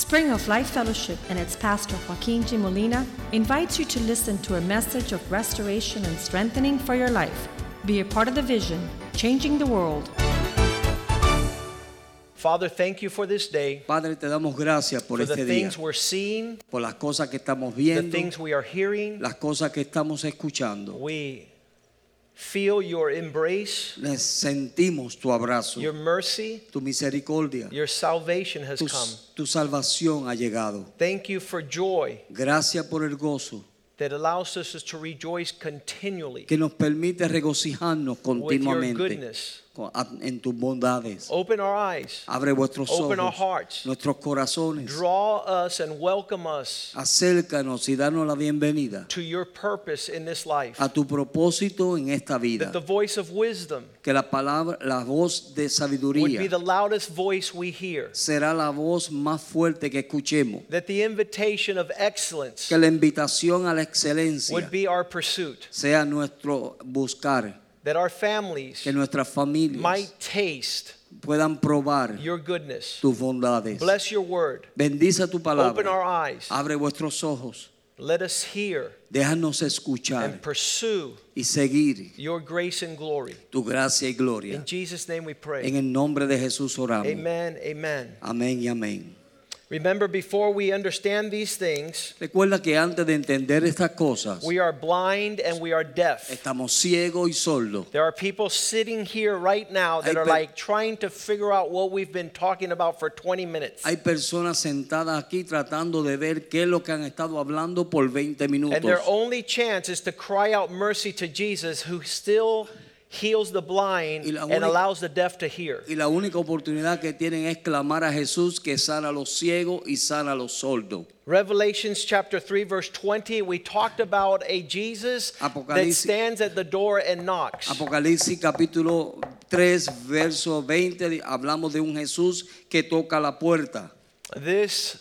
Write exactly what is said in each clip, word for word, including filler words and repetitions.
Spring of Life Fellowship and its pastor Joaquin G. Molina invites you to listen to a message of restoration and strengthening for your life. Be a part of the vision, changing the world. Father, thank you for this day. Padre, te damos gracias por for este the día, things we're seeing, por las cosas que estamos the viendo, things we are hearing. las cosas que estamos escuchando. We feel your embrace, Les sentimos tu abrazo, your mercy, tu misericordia, your salvation has tu, come. tu salvación ha llegado. Thank you for joy Gracias por el gozo that allows us to rejoice continually que nos permite regocijarnos with your continuamente goodness. en tus bondades. Open our eyes, Abre vuestros open our ojos, hearts, nuestros corazones. draw us and welcome us Acércanos y danos la bienvenida to your purpose in this life. a tu propósito en esta vida. That the voice of wisdom Que la palabra, la voz de would be sabiduría the loudest voice we hear. será la voz más fuerte que escuchemos. That the invitation of excellence Que la invitación a la excelencia would be our pursuit. sea nuestro buscar. That our families Que nuestras familias might taste puedan probar your goodness. tus bondades. Bless your word. Bendice tu Open our palabra. eyes. Abre vuestros ojos. Let us hear Déjanos escuchar and pursue y seguir your grace and glory. tu gracia y gloria. In Jesus' name we En pray. el nombre de Jesús oramos. Amen, amen. Amén y amén. Remember, before we understand these things, Recuerda que antes de entender estas cosas, we are blind and we are deaf. estamos ciegos y sordos. There are people sitting here right now that Hay are pe- like trying to figure out what we've been talking about for twenty minutes. Hay personas sentadas aquí tratando de ver qué es lo que han estado hablando por veinte minutos. And their only chance is to cry out mercy to Jesus, who still heals the blind Y la and única- allows the deaf to hear. Y la única oportunidad que tienen es clamar a Jesús que sana a los ciegos y sana a los sordos. Revelations chapter three verse twenty, we talked about a Jesus that Apocalipsis- stands at the door and knocks. Apocalipsis capítulo tres, verso veinte, hablamos de un Jesús que toca la puerta. This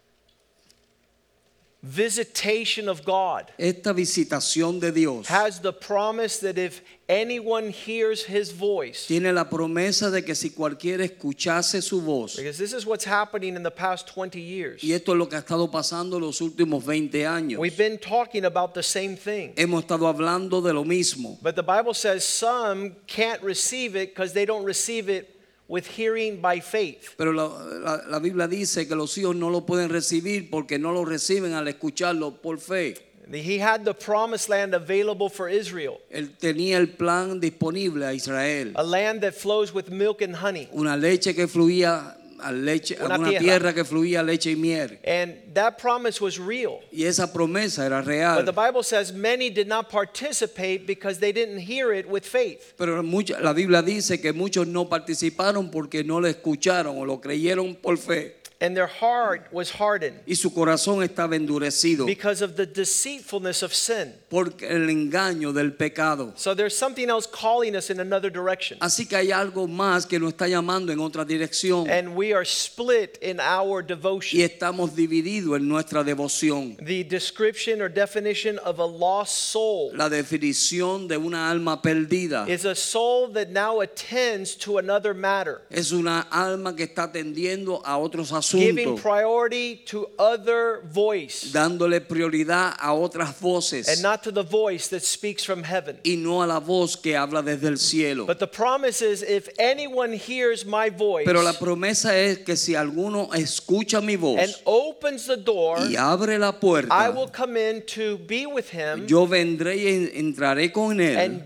visitation of God Esta visitación de Dios has the promise that if anyone hears his voice, tiene la promesa de que si cualquiera escuchase su voz, because this is what's happening in the past twenty years. y esto es lo que ha estado pasando los últimos veinte años, We've been talking about the same thing. hemos estado hablando de lo mismo. But the Bible says some can't receive it because they don't receive it with hearing by faith. Pero la, la, la Biblia dice que los hijos no lo pueden recibir porque no lo reciben al escucharlo por fe. He had the promised land available for Israel, Él tenía el plan disponible a Israel, a land that flows with milk and honey. una leche que fluía a leche, Una una tierra. tierra que fluía leche y miel, And that promise was real. y esa promesa era But real. the Bible says many did not participate because they didn't hear it with faith. Pero mucha- la Biblia dice que muchos no participaron porque no lo escucharon o lo creyeron por fe, And their heart was hardened y su corazón estaba endurecido because of the deceitfulness of sin. por el engaño del pecado. So there's something else calling us in another direction. Así que hay algo más que nos está llamando en otra dirección, And we are split in our y devotion. estamos divididos en nuestra devoción. The description or definition of a lost soul La definición de una alma perdida is a soul that now attends to another matter, es una alma que está atendiendo a otros giving asuntos, priority to other voice dándole prioridad a otras voces and not to the voice that speaks from heaven. y no a la voz que habla desde el cielo. But the promise is, if anyone hears my voice Pero la promesa es que si alguno escucha mi voz and opens the door, y abre la I puerta, will come in to be with him yo vendré y en- entraré con él and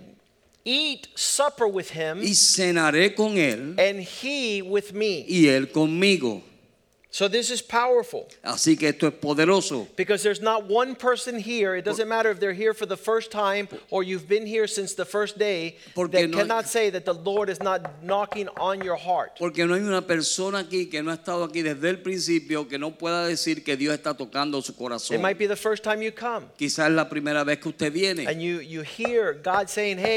eat supper with him y cenaré con él and he with me. y él conmigo. So this is powerful Así que esto es poderoso, because there's not one person here. It doesn't matter if they're here for the first time or you've been here since the first day Porque that no- cannot say that the Lord is not knocking on your heart. porque no hay una persona aquí que no ha estado aquí desde el principio que no pueda decir que Dios está tocando su It corazón. might be the first time you come Quizás es la primera vez que usted viene and you, you hear God saying, hey,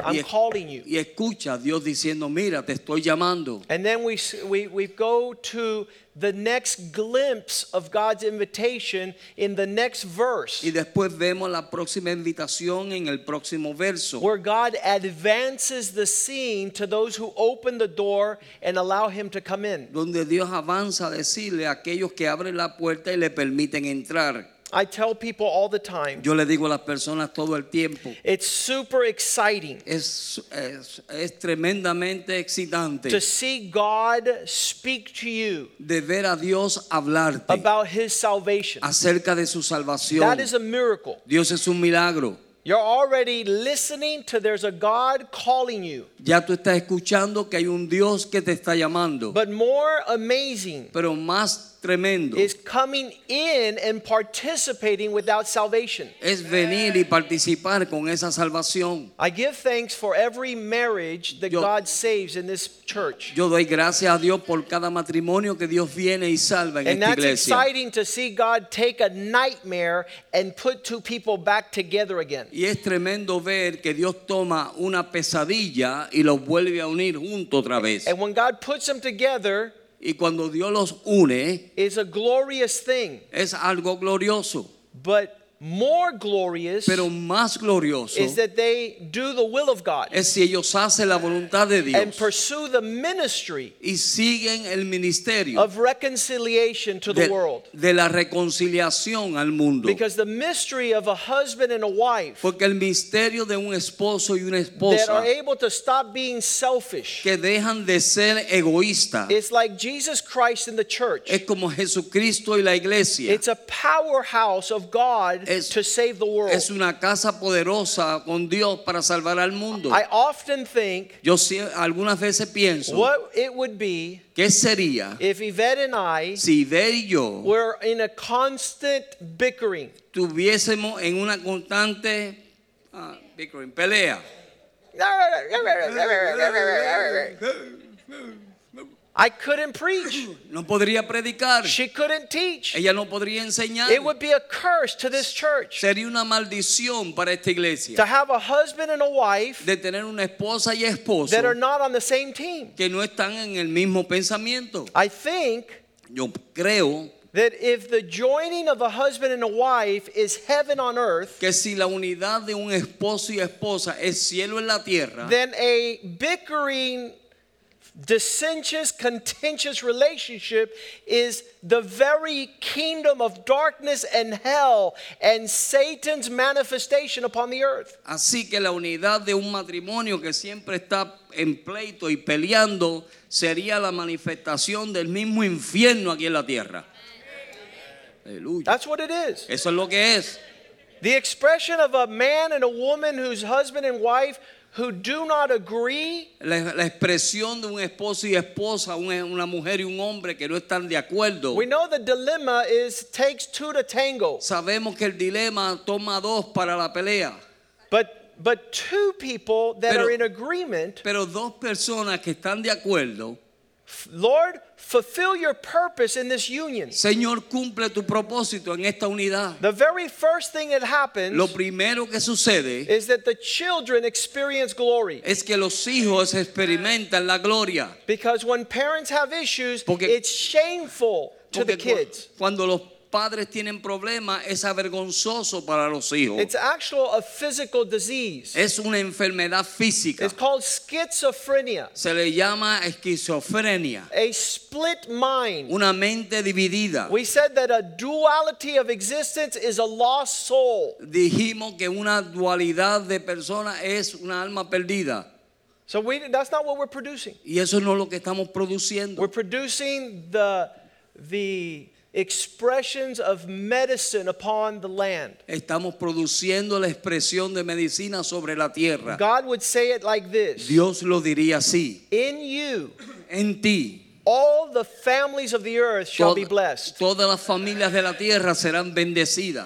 I'm y, calling you. y escucha a Dios diciendo, mira, te estoy llamando. And then we, we, we go to the next glimpse of God's invitation in the next verse. Y después vemos la próxima invitación en el próximo verso, Where God advances the scene to those who open the door and allow him to come in. donde Dios avanza a decirle a aquellos que abren la puerta y le permiten entrar. I tell people all the time, Yo le digo a las personas todo el tiempo, it's super exciting es, es, es tremendamente excitante to see God speak to you de ver a Dios hablarte about his salvation. acerca de su salvación. That is a miracle. Dios es un milagro. You're already listening to there's a God calling you. Ya tú estás escuchando que hay un Dios que te está llamando. But more amazing Pero más tremendo is coming in and participating without salvation. es venir y participar con esa salvación. I give thanks for every marriage that Yo- God saves in this church. Yo doy gracias a Dios por cada matrimonio que Dios viene y salva en And esta that's iglesia. exciting to see God take a nightmare and put two people back together again. Y es tremendo ver que Dios toma una pesadilla y los vuelve a unir juntos otra vez. And when God puts them together, Y cuando Dios los une, it's a glorious thing. es algo glorioso. But more glorious Pero más glorioso is that they do the will of God es si ellos hacen la voluntad de and Dios pursue the ministry y siguen el ministerio of reconciliation to the de, world. de la reconciliación al mundo. Because the mystery of a husband and a wife Porque el misterio de un esposo y una that esposa are able to stop being selfish, que dejan de ser egoístas it's like Jesus Christ in the church. es como Jesucristo y la iglesia. It's a powerhouse of God Es- to save the world. Es una casa poderosa con Dios para salvar al mundo. I often think Yo sí, algunas veces pienso, what it would be ¿qué sería if Yvette and I si Ver y yo were in a constant bickering? tuviésemos en una constante ah, bickering, pelea? I couldn't preach. No podría predicar. She couldn't teach. Ella no podría enseñar. It would be a curse to this church Sería una maldición para esta iglesia to have a husband and a wife de tener una esposa y esposo that are not on the same team. que no están en el mismo pensamiento. I think Yo creo that if the joining of a husband and a wife is heaven on earth, que si la unidad de un esposo y esposa es cielo en la tierra, then a bickering, dissentious, contentious relationship is the very kingdom of darkness and hell and Satan's manifestation upon the earth. así que la unidad de un matrimonio que siempre está en pleito y peleando sería la manifestación del mismo infierno aquí en la tierra. Aleluya. That's what it is. Eso es lo que es. The expression of a man and a woman whose husband and wife who do not agree La, la expresión de un esposo y esposa, una, una mujer y un hombre que no están de acuerdo. we know the dilemma is takes two to tango. Sabemos que el dilema toma dos para la pelea, But but two people that Pero- are in agreement, pero dos personas que están de acuerdo. Lord, fulfill your purpose in this union. Señor, cumple tu propósito en esta unidad. The very first thing that happens Lo primero que sucede is that the children experience glory. es que los hijos experimentan la gloria. Because when parents have issues, Porque- it's shameful to the Porque cu- kids. cuando los padres tienen problemas es avergonzoso para los hijos. It's actual a physical disease. Es una enfermedad física. It's called schizophrenia, Se le llama esquizofrenia, a split mind. una mente dividida. We said that a duality of existence is a lost soul. Dijimos que una dualidad de personas es una alma perdida. So we, that's not what we're producing. Y eso no es lo que estamos produciendo. We're producing the, the expressions of medicine upon the land. Estamos produciendo la expresión de medicina sobre la tierra. God would say it like this: Dios lo diría así. in you, En ti, all the families of the earth shall be tod- blessed. todas las familias de la tierra serán bendecidas.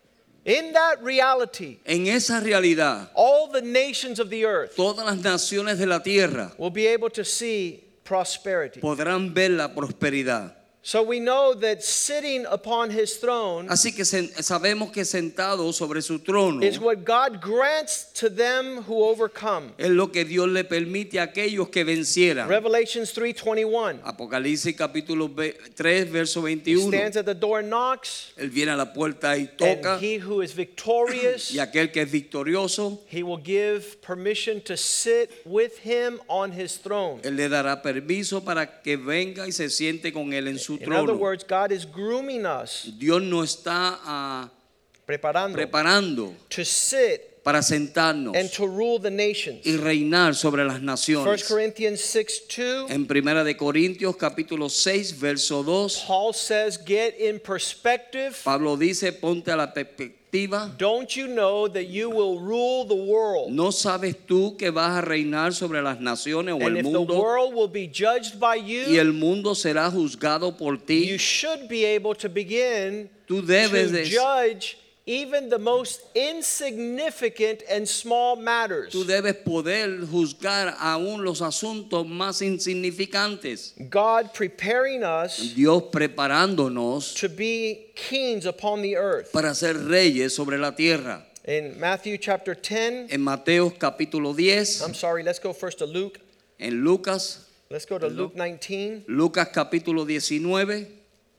In that reality, En esa realidad, all the nations of the earth todas las naciones de la tierra will be able to see prosperity. podrán ver la prosperidad. So we know that sitting upon his throne Así que sen- sabemos que sentado sobre su trono is what God grants to them who overcome. es lo que Dios le permite a aquellos que vencieran. Revelations three twenty-one. Apocalipsis capítulo ve- tres, verso He veintiuno. stands at the door and knocks, Él viene a la puerta y toca, and he who is victorious, y aquel que es victorioso, he will give permission to sit with him on his throne. Él le dará permiso para que venga y se siente con él en su In other trono. words, God is grooming us, Dios nos está ah, preparando, preparando to sit para sentarnos and to rule the nations. y reinar sobre las First naciones. Corinthians six two, En Primera de Corintios capítulo seis, verso dos, Paul says, get in perspective. Pablo dice, ponte a la perspectiva. Don't you know that you will rule the world? ¿No sabes tú que vas a reinar sobre las naciones o And el if the mundo? world will be judged by Y you, el mundo será juzgado por ti. you should be able to begin Tú debes to de, judge even the most insignificant and small matters. tú debes poder juzgar aún los asuntos más insignificantes. God preparing us Dios preparándonos to be kings upon the earth. para ser reyes sobre la tierra. In Matthew chapter ten, En Mateo capítulo diez, I'm sorry, let's go first to Luke. en Lucas, Let's go to Luke nineteen. Lucas capítulo diecinueve,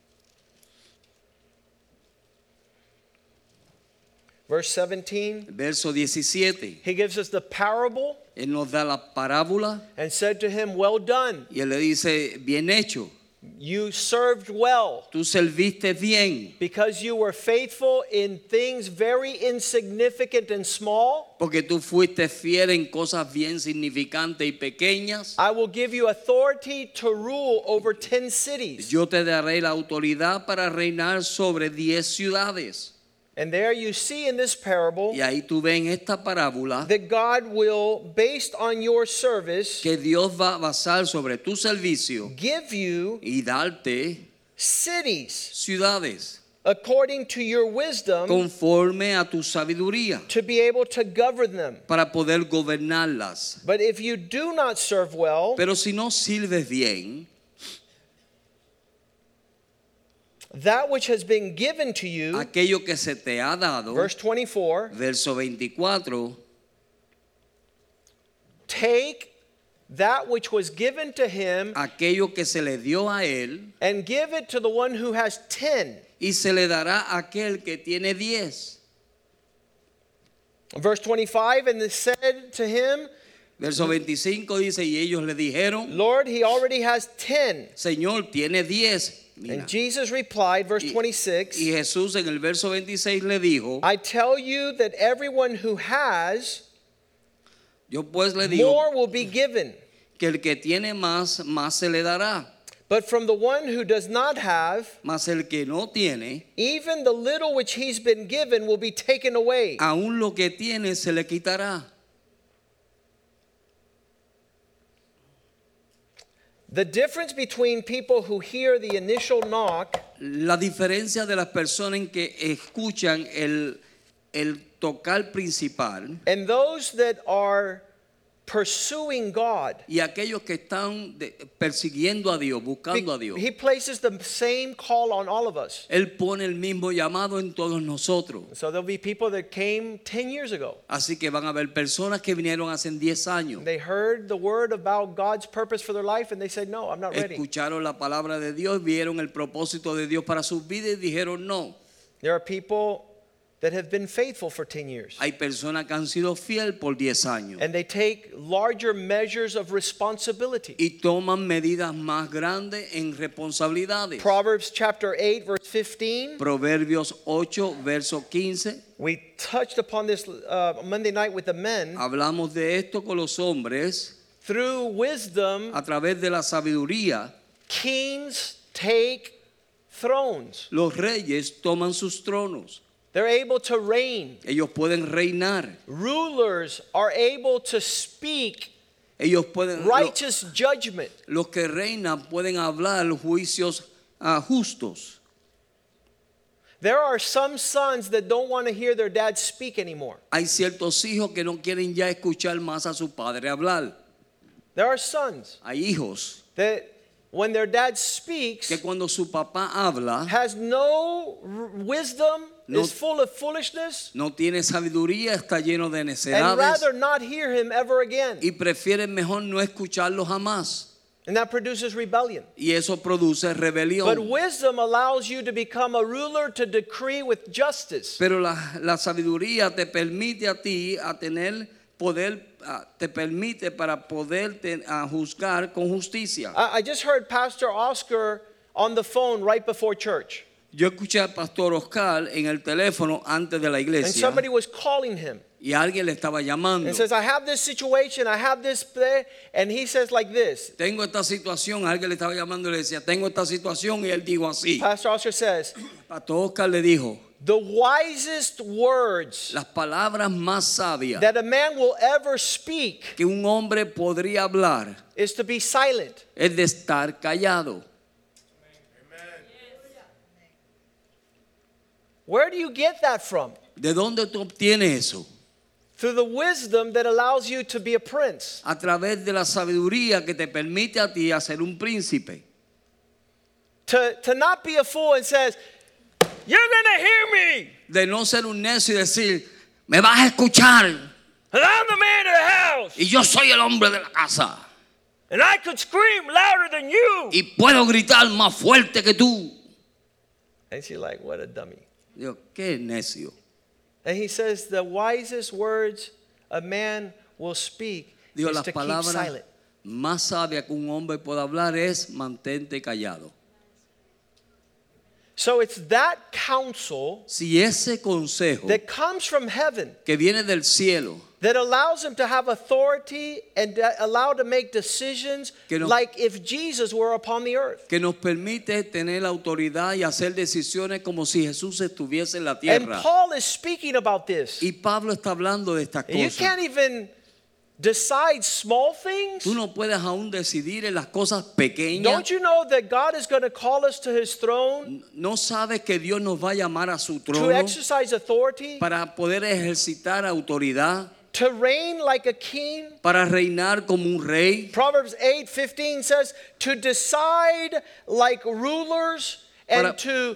Verse seventeen, verso diecisiete. he gives us the parable Él nos da la parábola and said to him, well done, y él le dice, bien hecho, you served well, tú serviste bien, because you were faithful in things very insignificant and small. porque tú fuiste fiel en cosas bien significantes y pequeñas. I will give you authority to rule over ten cities. Yo te daré la autoridad para reinar sobre diez ciudades. And there you see in this parable Y ahí tú ves en esta parábola that God will, based on your service, que Dios va a basar sobre tu servicio give you y darte cities ciudades according to your wisdom conforme a tu sabiduría to be able to govern them. para poder gobernarlas. But if you do not serve well, Pero si no sirves bien, that which has been given to you, aquello que se te ha dado, verse twenty-four, verso veinticuatro, take that which was given to him aquello que se le dio a él and give it to the one who has ten. y se le dará a aquel que tiene diez. Verse twenty-five, and they said to him, Verso veinticinco dice, y ellos le dijeron, Lord, he already has ten. Señor, tiene diez. Mira. And Jesus replied, verse Y, twenty-six, y Jesús en el verso veintiséis le dijo, I tell you that everyone who has, yo pues le digo more will be given. que el que tiene más, más se le dará. But from the one who does not have, Mas el que no tiene, even the little which he's been given will be taken away. aún lo que tiene se le quitará. The difference between people who hear the initial knock La diferencia de las personas en que escuchan el, el tocar principal and those that are pursuing God, y aquellos que están de- persiguiendo a Dios, buscando a Dios. he places the same call on all of us. Él pone el mismo llamado en todos nosotros. So there'll be people that came ten years ago. Así que van a haber personas que vinieron hace diez años. They heard the word about God's purpose for their life and they said, no, I'm not ready. Escucharon la palabra de Dios, vieron el propósito de Dios para sus vidas y dijeron no. There are people that have been faithful for ten years. Hay personas que han sido fiel por diez años And they take larger measures of responsibility. y toman medidas más grandes en responsabilidades. Proverbs chapter eight, verse fifteen. Proverbios ocho, verso quince. We touched upon this uh, Monday night with the men. Hablamos de esto con los hombres. Through wisdom, A través de la sabiduría, kings take thrones. los reyes toman sus tronos. They're able to reign. Ellos pueden reinar. Rulers are able to speak Ellos pueden, lo- righteous judgment. los que reinan pueden hablar juicios ah, justos. There are some sons that don't want to hear their dad speak anymore. Hay ciertos hijos que no quieren ya escuchar más a su padre hablar. There are sons Hay hijos that when their dad speaks, que cuando su papá habla, has no r- wisdom, No- is full of foolishness, no tiene sabiduría, está lleno de and necedades rather not hear him ever again. y prefieren mejor no escucharlo jamás. And that produces rebellion. Y eso produce But rebelión. wisdom allows you to become a ruler to decree with justice. Pero la, la sabiduría te permite a ti a tener poder, a- te permite para poder te- a juzgar con justicia. I, I just heard Pastor Oscar on the phone right before church. Yo escuché al pastor Oscar en el teléfono antes de la And iglesia somebody was calling him y alguien le estaba llamando. and says, I have this situation, I have this, play. And he says like this. Tengo esta situación, alguien le estaba llamando y le decía, tengo esta situación, y él dijo así. Pastor Oscar says, Pastor Oscar le dijo, the wisest words las palabras más sabias that a man will ever speak que un hombre podría hablar is to be silent. es de estar callado. Where do you get that from? ¿De dónde tú obtienes eso? Through the wisdom that allows you to be a prince. A través de la sabiduría que te permite a ti ser un príncipe. To, to not be a fool and says, you're going to hear me. De no ser un necio y decir, me vas a escuchar And I'm the man of the house. y yo soy el hombre de la casa And I could scream louder than you. y puedo gritar más fuerte que tú. And she's like, what a dummy. Digo, qué necio. And he says, the wisest words a man will speak Digo, is las to keep palabras silent. más sabias que un hombre puede hablar es mantente callado. So it's that counsel Si ese consejo that comes from heaven que viene del cielo, that allows him to have authority and uh, allow to make decisions Que no- like if Jesus were upon the earth. que nos permite tener autoridad y hacer decisiones como si Jesús estuviese en la And tierra. Paul is speaking about this. Y Pablo está hablando de estas You cosas. can't even decide small things. Tú no puedes aún decidir en las cosas pequeñas. Don't you know that God is going to call us to his throne No sabes que Dios nos va a llamar a su to trono exercise authority, para poder ejercitar autoridad, to reign like a king? para reinar como un rey. Proverbs eight fifteen says to decide like rulers and Para- to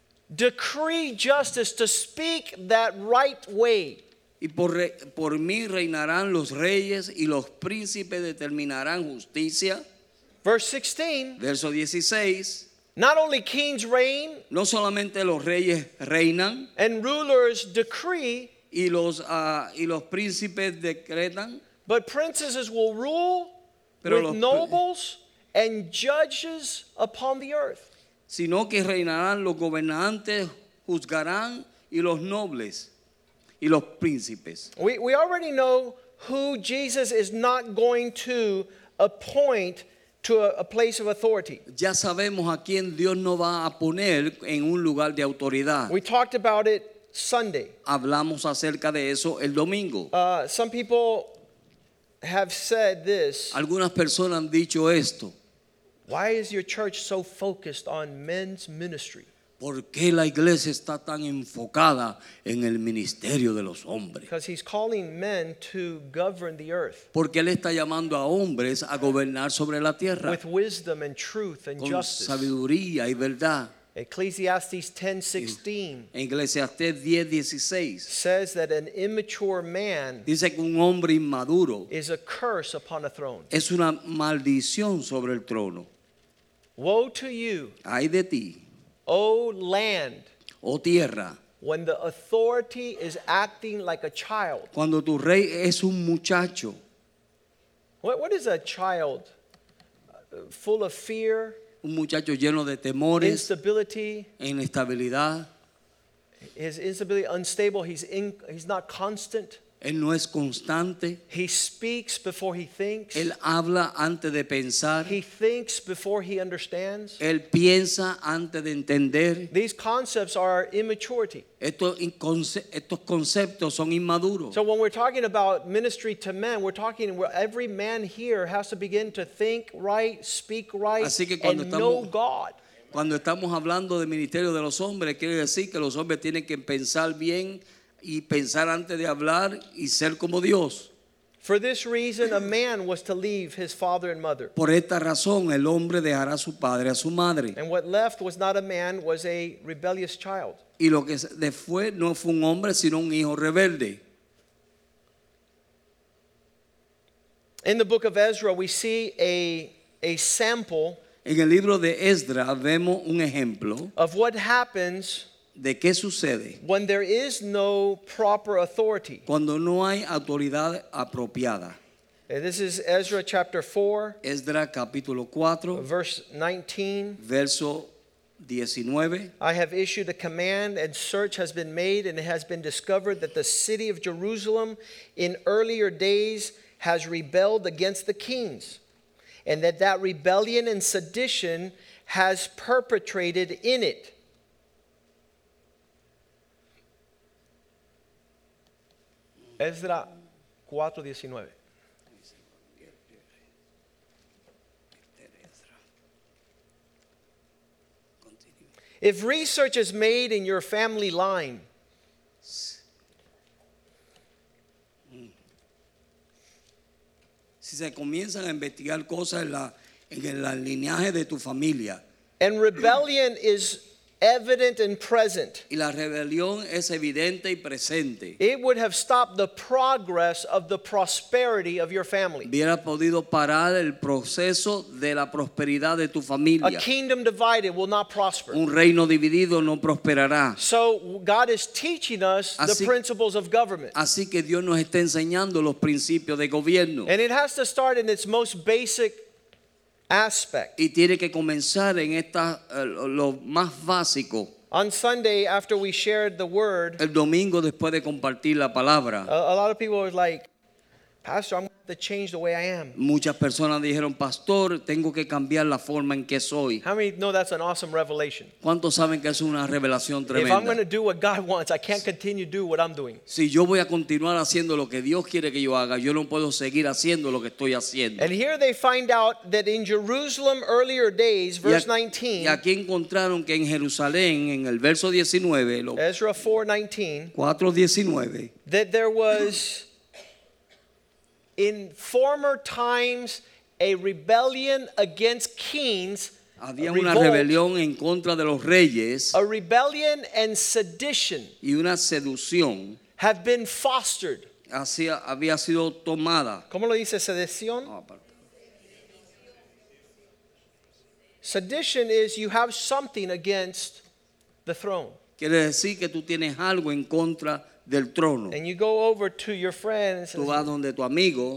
decree justice, to speak that right way. Y por, re- por mí reinarán los reyes y los príncipes determinarán justicia. Verse sixteen, Verso dieciséis. not only kings reign No solamente los reyes reinan and rulers decree, y los, ah, y los príncipes decretan, but princesses will rule Pero with los- nobles and judges upon the earth. sino que reinarán los gobernantes, juzgarán y los nobles y los príncipes. We, we already know who Jesus is not going to appoint to a, a place of authority. Ya sabemos a quién Dios no va a poner en un lugar de autoridad. We talked about it Sunday. Hablamos acerca de eso el domingo. Uh, some people have said this. Algunas personas han dicho esto. Why is your church so focused on men's ministry? ¿Por qué la iglesia está tan enfocada en el ministerio de los hombres? Because he's calling men to govern the earth Porque Él está llamando a hombres a gobernar sobre la tierra with wisdom and truth and con justice. sabiduría y verdad. Ecclesiastes ten sixteen En Eclesiastés diez dieciséis says that an immature man dice que un hombre inmaduro is a curse upon a throne. es una maldición sobre el trono. Woe to you, Ay de ti, O land, oh tierra, when the authority is acting like a child. cuando tu rey es un muchacho. What, what is a child? Uh, Full of fear, Un muchacho lleno de temores, instability. inestabilidad. His instability, unstable. He's in, he's not constant. Él no es constante. He speaks before he thinks. Él habla antes de pensar. He thinks before he understands. Él piensa antes de entender. These concepts are immaturity. Estos, inconce- estos conceptos son inmaduros. So when we're talking about ministry to men, we're talking where every man here has to begin to think right, speak right, Así que cuando and know estamos- God. Cuando estamos hablando del ministerio de los hombres, quiere decir que los hombres tienen que pensar bien y pensar antes de hablar y ser como Dios. For this reason, a man was to leave his father and mother. Por esta razón el hombre dejará a su padre a su madre. And what left was not a man, was a rebellious child. Y lo que se fue no fue un hombre, sino un hijo rebelde. In the book of Ezra, we see a, a sample En el libro de Esdras vemos un ejemplo of what happens de qué sucede when there is no proper authority. cuando no hay autoridad apropiada. And this is Ezra chapter four, Esdras capítulo cuatro, verse nineteen. verso diecinueve. I have issued a command, and search has been made, and it has been discovered that the city of Jerusalem in earlier days has rebelled against the kings, and that that rebellion and sedition has perpetrated in it. Ezra cuatro diecinueve. If research is made in your family line, Si se comienzan a investigar cosas en, la, en el lineaje de tu familia and rebellion is evident and present, y la rebelión es evidente y presente, it would have stopped the progress of the prosperity of your family. hubiera podido parar el proceso de la prosperidad de tu A familia. kingdom divided will not prosper. Un reino dividido no prosperará. So God is teaching us the Así- principles of government. Así que Dios nos está enseñando los principios de gobierno. And it has to start in its most basic aspect. Y tiene que comenzar en esta, eh, lo más básico. On Sunday, after we shared the word, El domingo después de compartir la palabra, a, a lot of people were like, Pastor, I'm going to have to change the way I am. muchas personas dijeron, pastor, tengo que cambiar la forma en que soy. How many know that's an awesome revelation? ¿Cuántos saben que es una revelación If I'm going to tremenda? do what God wants, I can't continue to do what I'm doing. Si yo voy a continuar haciendo lo que Dios quiere que yo haga, yo no puedo seguir haciendo lo que estoy haciendo. And here they find out that in Jerusalem earlier days, Y verse aquí- nineteen, y aquí encontraron que en Jerusalén, en el verso diecinueve, lo- Ezra four nineteen, cuatro diecinueve, that there was in former times a rebellion against kings, a había una revolt, rebelión en contra de los reyes a rebellion and sedition y una seducción have been fostered. hacía- había sido tomada. ¿Cómo lo dice sedición? Ah, aparte. Sedition is you have something against the throne. Quiere decir que tú tienes algo en contra del trono. And you go over to your friends, Tú vas donde tu amigo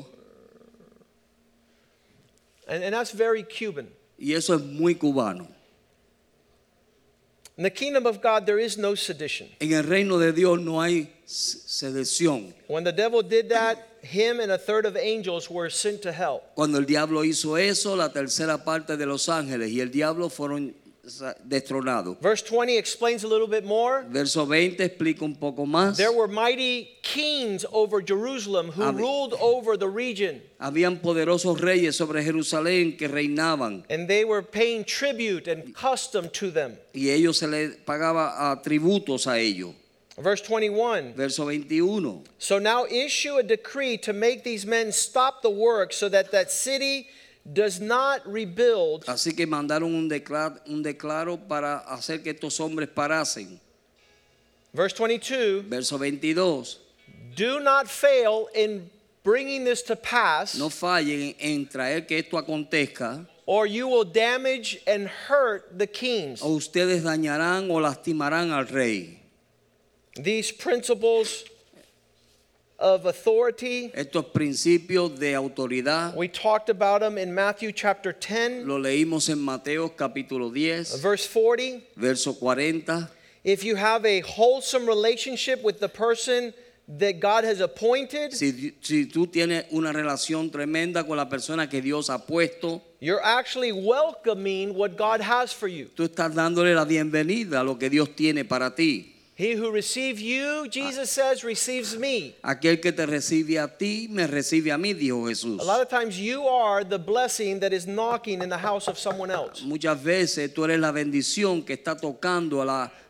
and, and that's very Cuban. y eso es muy cubano. In the kingdom of God, there is no sedition. En el reino de Dios no hay s- sedición. When the devil did that, him and a third of angels were sent to hell. Cuando el diablo hizo eso, la tercera parte de los ángeles y el diablo fueron sa- destronados. Verse twenty explains a little bit more. Verso veinte explica un poco más. There were mighty kings over Jerusalem who Hab- ruled over the region, Habían poderosos reyes sobre Jerusalén que reinaban and they were paying tribute and custom to them. y ellos se les pagaba ah, tributos a ellos. Verse twenty-one. Verso veintiuno. So now issue a decree to make these men stop the work so that that city does not rebuild. Así que mandaron un declaro, un declaro para hacer que estos hombres parasen. Verse twenty-two. Verso veintidós. Do not fail in bringing this to pass, No fallen en traer que esto acontezca, or you will damage and hurt the kings. o ustedes dañarán o lastimarán al rey. These principles of authority, Estos principios de autoridad we talked about them in Matthew chapter ten, lo leímos en Mateo capítulo diez, verse forty. verso cuarenta. If you have a wholesome relationship with the person that God has appointed, Si, si tú tienes una relación tremenda con la persona que Dios ha puesto, you're actually welcoming what God has for you. tú estás dándole la bienvenida a lo que Dios tiene para ti. He who receives you, Jesus says, receives me. Aquel que te recibe a ti, me recibe a mí, dijo Jesús. A lot of times you are the blessing that is knocking in the house of someone else. Muchas veces tú eres la bendición que está tocando a la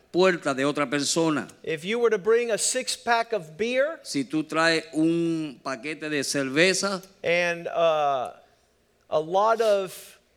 puerta de otra persona. If you were to bring a six pack of beer Si tú traes un paquete de cerveza and uh, a lot of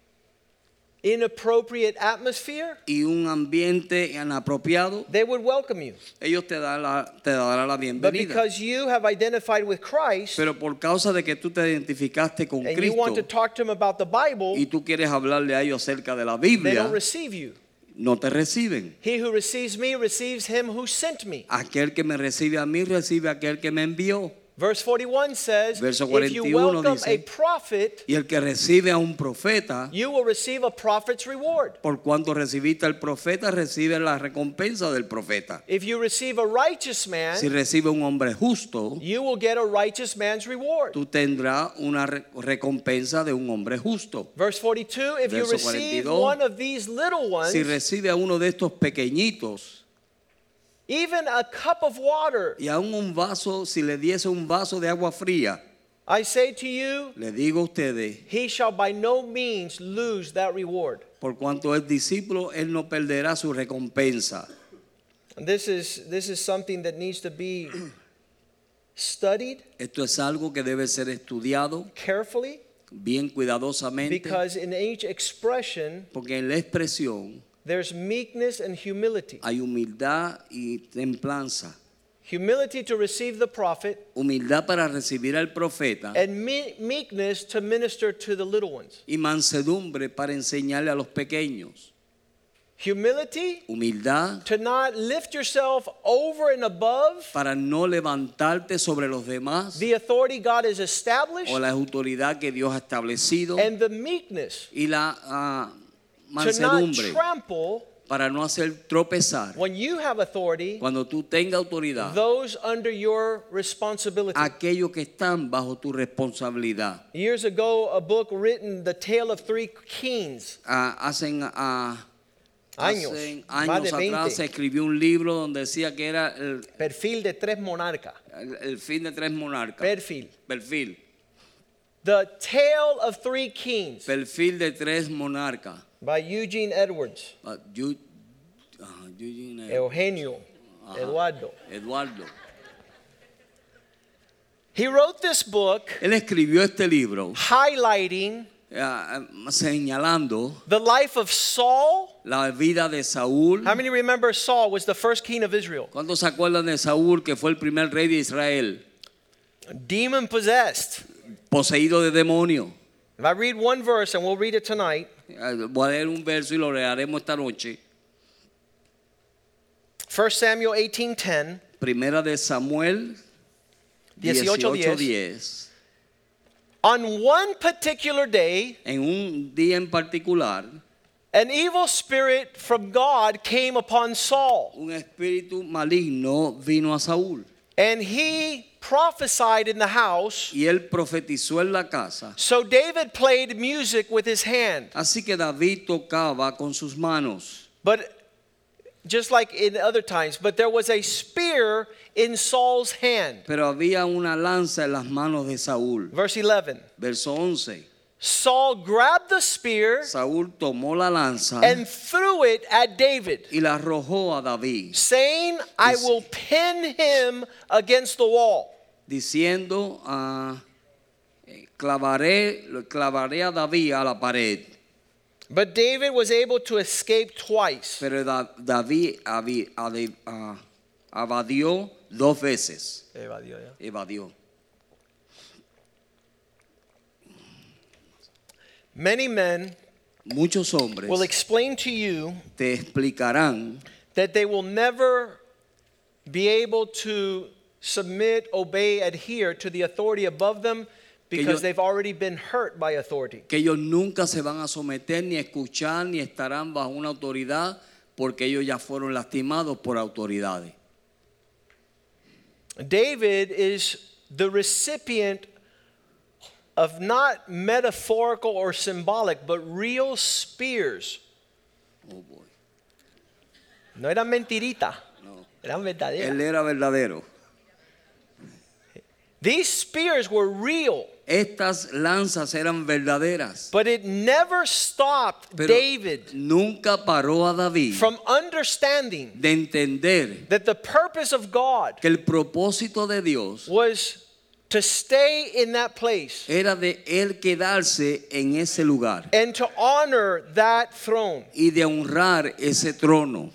inappropriate atmosphere, y un ambiente inapropiado, they would welcome you. ellos te darán la, te darán la But bienvenida. because you have identified with Christ Pero por causa de que tú te identificaste con and you want to Cristo talk to them about the Bible, y tú quieres hablarle a ellos acerca de la they Biblia, don't receive you. no te reciben. He who receives me receives him who sent me. Aquel que me recibe a mí recibe a aquel que me envió. Verse forty-one says, Verso if you cuarenta y uno welcome dice, a prophet, Y el que recibe a un profeta, you will receive a prophet's reward. por cuanto recibiste al profeta, recibe la recompensa del profeta. If you receive a righteous man, Si recibe un hombre justo, you will get a righteous man's reward. tú tendrás una re- recompensa de un hombre justo. Verse forty-two, if you Verso receive cuarenta y dos, one of these little ones, Si recibe a uno de estos pequeñitos, even a cup of water, y aún un vaso, si le diese un vaso de agua fría, I say to you, le digo a ustedes, he shall by no means lose that reward. por cuanto es discípulo, él no perderá su recompensa. And this is this is something that needs to be studied Esto es algo que debe ser estudiado carefully, bien cuidadosamente, because in each expression porque en la expresión there's meekness and humility. hay humildad y templanza. Humility to receive the prophet, Humildad para recibir al profeta and me- meekness to minister to the little ones. y mansedumbre para enseñarle a los pequeños. Humility Humildad to not lift yourself over and above para no levantarte sobre los demás the authority God has established, o la autoridad que Dios ha establecido, and the meekness y la ah, to not mansedumbre trample para no hacer tropezar when you have authority cuando tú tengas autoridad those under your responsibility. aquellos que están bajo tu responsabilidad. Years ago, a book written, The Tale of Three Kings, Ah, hacen ah, años, Hacen más de años atrás se veinte, escribió un libro donde decía que era el, perfil de tres monarcas, el- el fin de tres monarcas. perfil. Perfil. The Tale of Three Kings Perfil de tres monarcas. by Eugene Edwards, Ah, Yu- ah, Eugene, eh, Eugenio, Ajá. Eduardo. Eduardo. He wrote this book Él escribió este libro highlighting ah, señalando the life of Saul. la vida de Saúl. How many remember Saul was the first king of Israel? ¿Cuántos se acuerdan de Saúl, que fue el primer rey de Israel? Demon possessed. Poseído de demonio. If I read one verse, and we'll read it tonight, Ah, Voy a leer un verso y lo leeremos esta noche. First Samuel eighteen ten. Primera de Samuel dieciocho dieciocho diez. diez. On one particular day, En un día en particular, an evil spirit from God came upon Saul, un espíritu maligno vino a Saúl and he prophesied in the house. y él profetizó en la casa. So David played music with his hand. Así que David tocaba con sus manos. But just like in other times, but there was a spear in Saul's hand. Pero había una lanza en las manos de Saúl. Verse eleven. Verso once. Saul grabbed the spear Saúl tomó la lanza and threw it at David, y la arrojó a David, saying, I Dice- will pin him against the wall. diciendo, ah, eh, clavaré, lo clavaré a David a la pared. But David was able to escape twice. Pero Da- David avi- ade- ah, evadió dos veces. Evadió. Many men Muchos hombres will explain to you te explicarán that they will never be able to submit, obey, adhere to the authority above them because ellos- they've already been hurt by authority. que ellos nunca se van a someter ni a escuchar ni estarán bajo una autoridad porque ellos ya fueron lastimados por autoridades. David is the recipient of not metaphorical or symbolic, but real spears. Oh boy. No eran mentiritas, No. eran verdaderas. Él era verdadero. These spears were real. Estas lanzas eran verdaderas. But it never stopped Pero David nunca paró a David from understanding de entender that the purpose of God que el propósito de Dios was to stay in that place era de él quedarse en ese lugar and to honor that throne. y de honrar ese trono.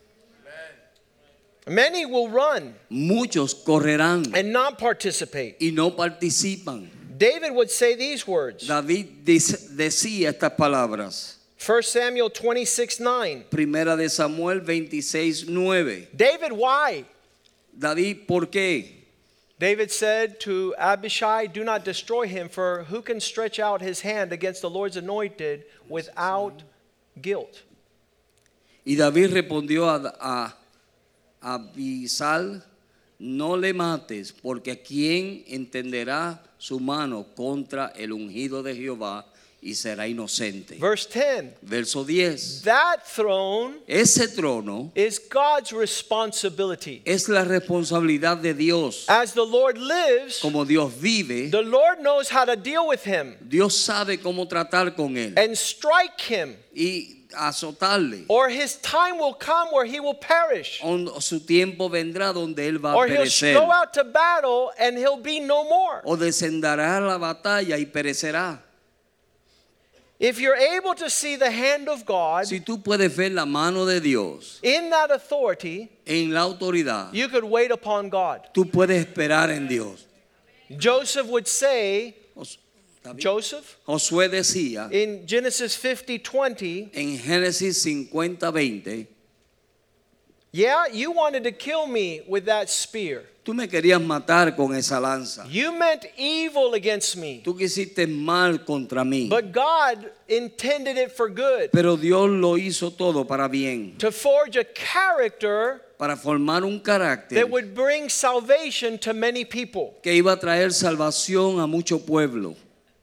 Many will run Muchos correrán and not participate. y no participan. David would say these words. David dice- decía estas palabras. First Samuel twenty-six nine. Primera de Samuel veintiséis nueve. David, why? David, ¿por qué? David said to Abishai, do not destroy him, for who can stretch out his hand against the Lord's anointed without guilt? Y David respondió a, a, a Abisal, no le mates, porque ¿quién entenderá su mano contra el ungido de Jehová y será inocente? Verse ten. Verso diez. That throne Ese trono is God's responsibility. es la responsabilidad de Dios. As the Lord lives, Como Dios vive, the Lord knows how to deal with him Dios sabe cómo tratar con él and strike him, y azotarle. or his time will come where he will perish, O su tiempo vendrá donde él va a or he'll perecer. go out to battle and he'll be no more. O descenderá a la batalla y perecerá. If you're able to see the hand of God Si tú puedes ver la mano de Dios in that authority, en la autoridad, you could wait upon God. tú puedes esperar en Dios. Joseph would say, Jos- ¿está bien? Joseph, Josué decía in Genesis fifty twenty, en Génesis cincuenta veinte, yeah, you wanted to kill me with that spear. tú me querías matar con esa lanza. You meant evil against me. Tú quisiste mal contra mí. But God intended it for good, Pero Dios lo hizo todo para bien, to forge a character para formar un carácter that would bring salvation to many people. que iba a traer salvación a mucho pueblo.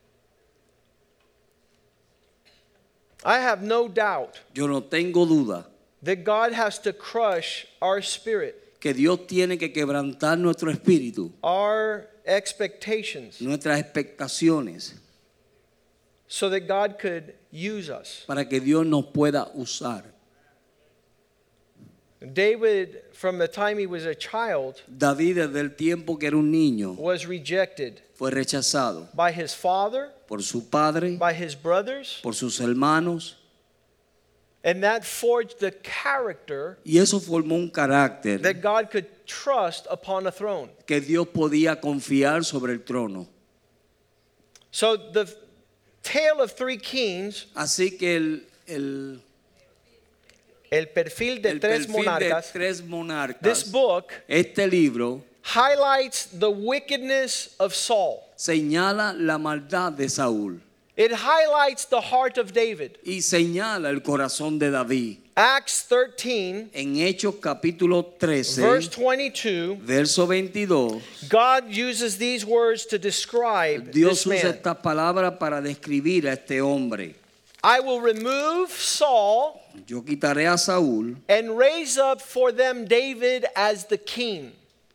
I have no doubt Yo no tengo duda that God has to crush our spirit, que Dios tiene que quebrantar nuestro espíritu, our expectations, nuestras expectaciones, so that God could use us. para que Dios nos pueda usar. David, from the time he was a child, David, desde el tiempo que era un niño, was rejected fue rechazado by his father, por su padre, by his brothers, por sus hermanos, and that forged the character y eso formó un carácter that God could trust upon a throne. que Dios podía confiar sobre el trono. So the tale of three kings, Así que el, el, el perfil de el tres perfil de monarcas, tres this monarcas, book este libro highlights the wickedness of Saul. señala la maldad de Saúl It highlights the heart of David. y señala el corazón de David. Acts thirteen, En Hechos capítulo trece, verse twenty-two, verso veintidós, God uses these words to describe Dios this usa man. esta palabra para describir a este hombre. I will remove Saul Yo quitaré a Saúl and raise up for them David as the king.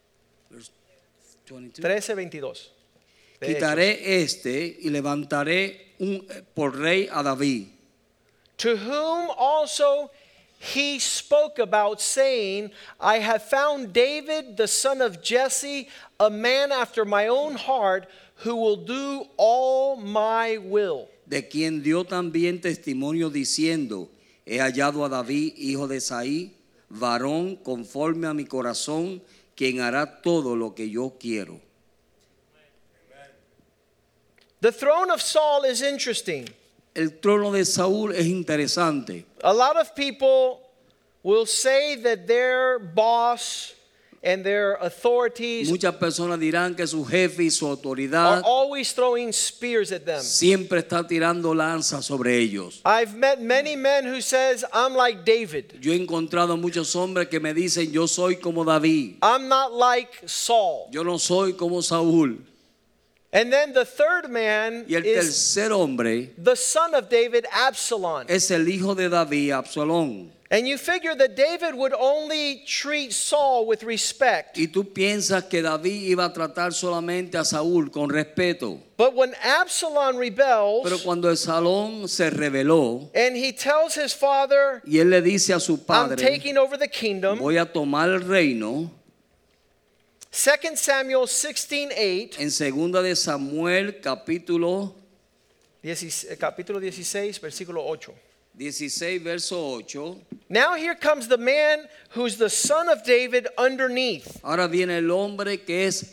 trece veintidós. De Hechos. quitaré este y levantaré un, por rey a David, To whom also he spoke about, saying, I have found David the son of Jesse, a man after my own heart, who will do all my will. de quien dio también testimonio diciendo, he hallado a David, hijo de Isaí, varón conforme a mi corazón, quien hará todo lo que yo quiero. The throne of Saul is interesting. El trono de Saúl es interesante. A lot of people will say that their boss and their authorities Muchas personas dirán que su jefe y su are autoridad always throwing spears at them. siempre está tirando lanzas sobre ellos. I've met many men who says, I'm like David. Yo he encontrado muchos hombres que me dicen, yo soy como David, I'm not like Saul. yo no soy como Saúl. And then the third man Y el is tercer hombre the son of David, Absalom. es el hijo de David, Absalón. And you figure that David would only treat Saul with respect. Y tú piensas que David iba a tratar solamente a Saúl con respeto. But when Absalom rebels, Pero cuando el Salón se rebeló and he tells his father, y él le dice a su I'm padre, taking over the kingdom, voy a tomar el reino, Second Samuel sixteen eight, en segunda de Samuel capítulo capítulo dieciséis, versículo ocho. dieciséis, verso ocho. Now here comes the man who's the son of David underneath. Ahora viene el hombre que es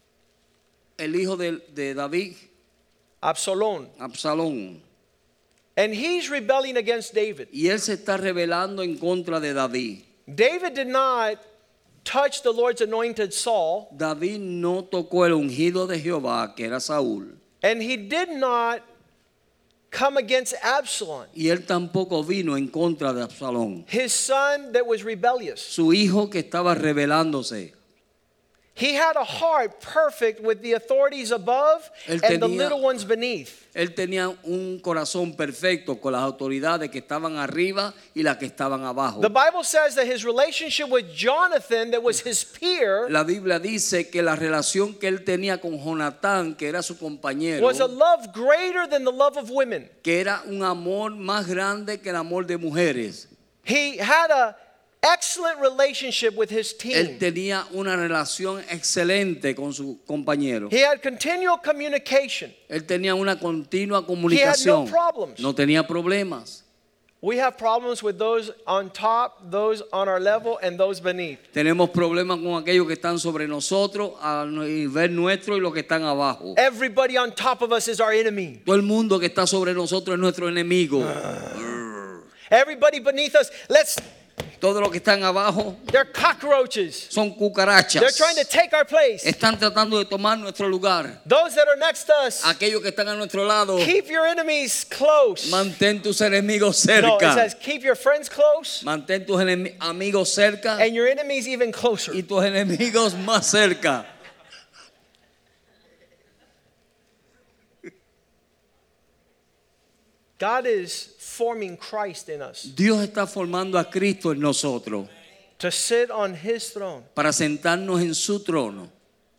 el hijo de, de David, Absalom. Absalón. And he's rebelling against David. Y él se está rebelando en contra de David. David did not touch the Lord's anointed Saul, David no tocó el ungido de Jehová, que era Saúl. and he did not come against Absalom, Y él tampoco vino en contra de Absalón, his son that was rebellious. su hijo que estaba rebelándose. He had a heart perfect with the authorities above Él and the tenía- little ones beneath. Él tenía un corazón perfecto con las autoridades que estaban arriba y las que estaban abajo. The Bible says that his relationship with Jonathan, that was his peer, La Biblia dice que la relación que él tenía con Jonatán, que era su compañero, was a love greater than the love of women. que era un amor más grande que el amor de mujeres. He had a excellent relationship with his Él team. tenía una relación excelente con su compañero. He had continual communication. Él tenía una continua comunicación. problems. No tenía problemas. We have problems with those on top, those on our level, and those beneath. Tenemos problemas con aquellos que están sobre nosotros, a nivel nuestro, y los que están abajo. Everybody on top of us is our enemy. Todo el mundo que está sobre nosotros es nuestro enemigo. Everybody beneath us, let's Todos los que están abajo they're cockroaches. son cucarachas. They're trying to take our place. Están tratando de tomar nuestro lugar. Those that are next to us, Aquellos que están a nuestro lado, keep your enemies close. mantén tus enemigos No, it cerca. says keep your friends close Mantén tus enemi- amigos cerca and your enemies even closer. y tus enemigos más cerca. God is forming Christ in us Dios está formando a Cristo en nosotros to sit on his throne. para sentarnos en su trono.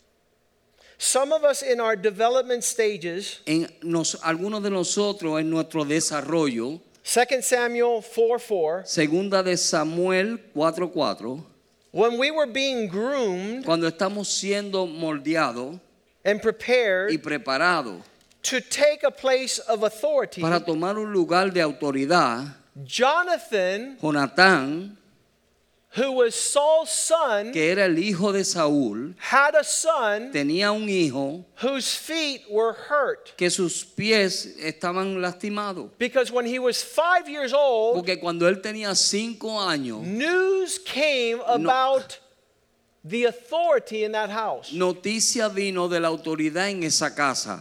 Some of us in our development stages, En nos, algunos de nosotros en nuestro desarrollo, Second Samuel four four, segunda de Samuel cuatro cuatro, when we were being groomed cuando estamos siendo moldeados and y prepared preparados to take a place of authority, para tomar un lugar de autoridad, Jonathan, Jonatán, who was Saul's son, que era el hijo de Saúl, had a son tenía un hijo whose feet were hurt. que sus pies estaban lastimados. Because when he was five years old, Porque cuando él tenía cinco años, news came about the authority in that house. noticia vino de la autoridad en esa casa.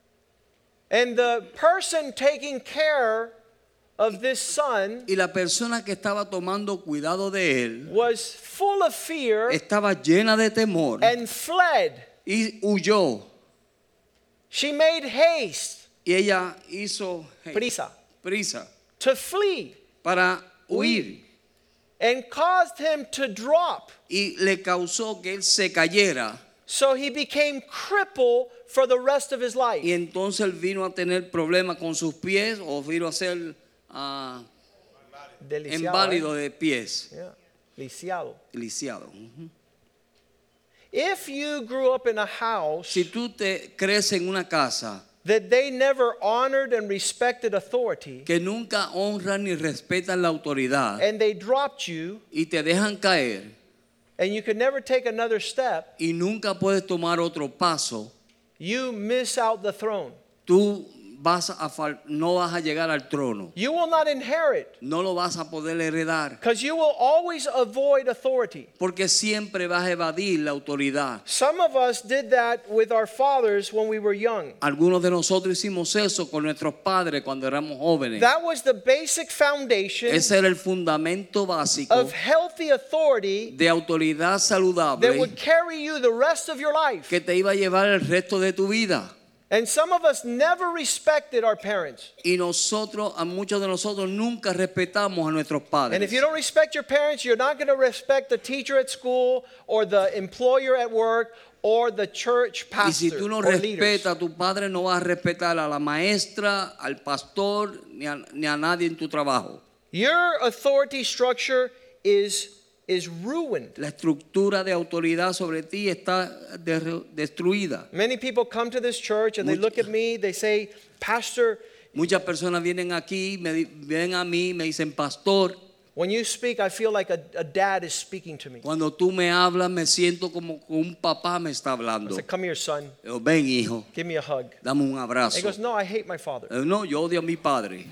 And the person taking care of this son Y la persona que estaba tomando cuidado de él was full of fear estaba llena de temor and fled. y huyó. She made haste, Y ella hizo prisa, prisa to flee para huir. and caused him to drop. Y le causó que él se cayera. So he became crippled for the rest of his life. Y entonces él vino a tener problemas con sus pies o vino a ser ah, Deliciado, inválido eh? de pies. Yeah. Lisiado. Lisiado. Ujú. If you grew up in a house Si tú te creces en una casa that they never honored and respected authority, que nunca honran ni respetan la autoridad and they dropped you, y te dejan caer and you could never take another step, y nunca puedes tomar otro paso, you miss out the throne. tú vas a fal- no vas a llegar al trono. You will not inherit, No lo vas a poder heredar because you will always avoid authority. porque siempre vas a evadir la autoridad. Some of us did that with our fathers when we were young. Algunos de nosotros hicimos eso con nuestros padres cuando éramos jóvenes. That was the basic foundation Ese era el fundamento básico of healthy authority de autoridad that saludable would carry you the rest of your life. que te iba a llevar el resto de tu vida. And some of us never respected our parents. Y nosotros, a muchos de nosotros nunca respetamos a nuestros padres. And if you don't respect your parents, you're not going to respect the teacher at school or the employer at work or the church Y si pastor tú no or leaders. respetas a tu padre, no vas a respetar a la maestra, al pastor, ni a, ni a nadie en tu trabajo. Your authority structure is is ruined. La estructura de autoridad sobre ti está de- destruida. Many people come to this church and they Much- look at me, they say, "Pastor, Muchas personas vienen aquí, me di- vienen a mí, me dicen, pastor, when you speak, I feel like a, a dad is speaking to me." cuando tú me hablas, me siento como que un papá me está I hablando. said, "Come here, son. Yo, ven, hijo, Give me a hug." dame un He abrazo. goes, "No, I hate my father. Eh, No, yo odio a mi padre.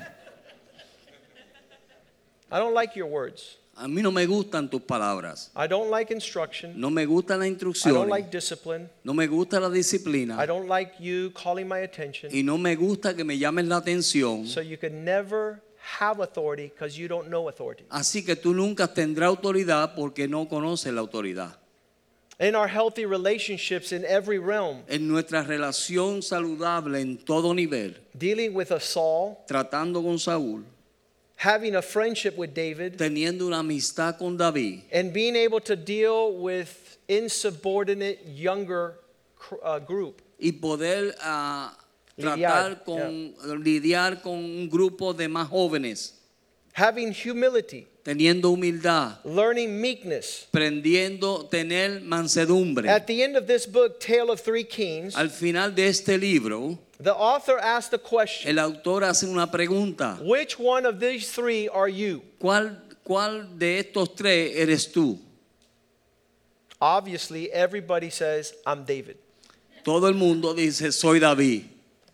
I don't like your words. A mí no me gustan tus palabras. I don't like instruction. No me gusta la I instrucción. don't like discipline. No me gusta la disciplina. I don't like you calling my attention." Y no me gusta que me llamen la atención. So you can never have authority because you don't know authority. Así que tú nunca tendrás autoridad porque no conoces la autoridad. In our healthy relationships in every realm, En nuestra relación saludable en todo nivel, dealing with a Saul, tratando con Saúl, having a friendship with David, teniendo una amistad con David and being able to deal with insubordinate younger cr- uh, group. y poder ah, Lidiar, tratar con lidiar con un grupo de más jóvenes, Having humility, teniendo humildad, learning meekness. aprendiendo tener mansedumbre. At the end of this book, Tale of Three Kings, Al final de este libro, the author asked the question, el autor hace una pregunta: which one of these three are you? ¿Cuál, cuál de estos tres eres tú? Obviously, everybody says, "I'm David." Todo el mundo dice, soy David.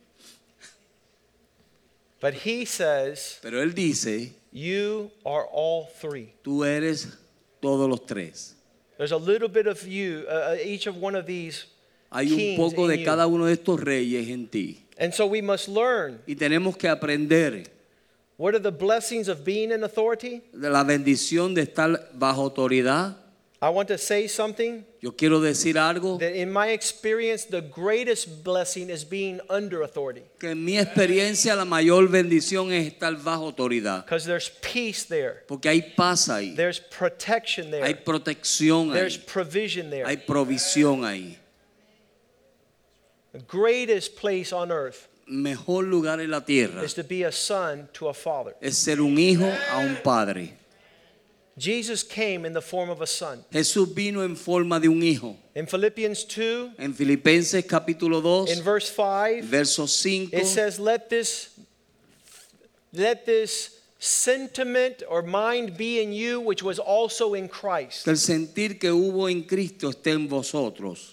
But he says, Pero él dice, you are all three. tú eres todos los tres. There's a little bit of you, uh, each of one of these Hay un kings poco in de you. cada uno de estos reyes en ti. And so we must learn, Y tenemos que aprender what are the blessings of being in authority? de la bendición de estar bajo autoridad. I want to say something Yo quiero decir algo, that in my experience, the greatest blessing is being under authority. que en mi experiencia la mayor bendición es estar bajo autoridad. Because there's peace there. Porque hay paz ahí, There's protection there. hay protección There's ahí, provision there. hay provisión ahí. The greatest place on earth Mejor lugar en la tierra is to be a son to a father. es ser un hijo a un padre. Jesus came in the form of a son. Jesús vino en forma de un hijo. In Philippians two, En Filipenses capítulo dos, in verse five, verso cinco, it says, let this, let this sentiment or mind be in you, which was also in Christ. que el sentir que hubo en Cristo esté en vosotros.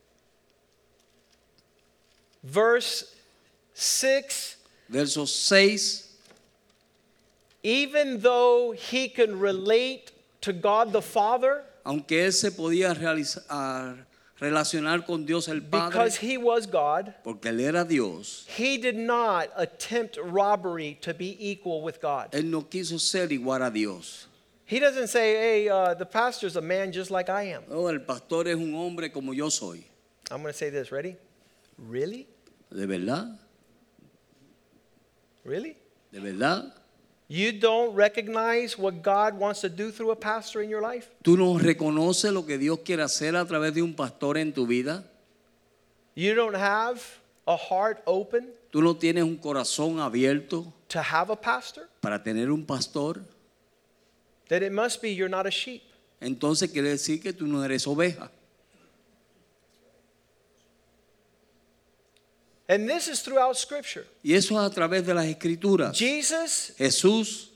Verse six, Verso seis, even though he can relate to God the Father, aunque él se podía realizar, relacionar con Dios el Padre, because he was God, porque él era Dios, he did not attempt robbery to be equal with God. él no quiso ser igual a Dios. He doesn't say, hey, uh, the pastor's a man just like I am. Oh, el pastor es un hombre como yo soy. I'm going to say this. Ready? Really? ¿De verdad? Really? ¿De verdad? You don't recognize what God wants to do through a pastor in your life? ¿Tú no reconoces lo que Dios quiere hacer a través de un pastor en tu vida? You don't have a heart open ¿Tú no tienes un corazón abierto to have a pastor? para tener un pastor? Then it must be you're not a sheep. Entonces quiere decir que tú no eres oveja. And this is throughout Scripture. Y eso es a través de las escrituras. Jesus Jesús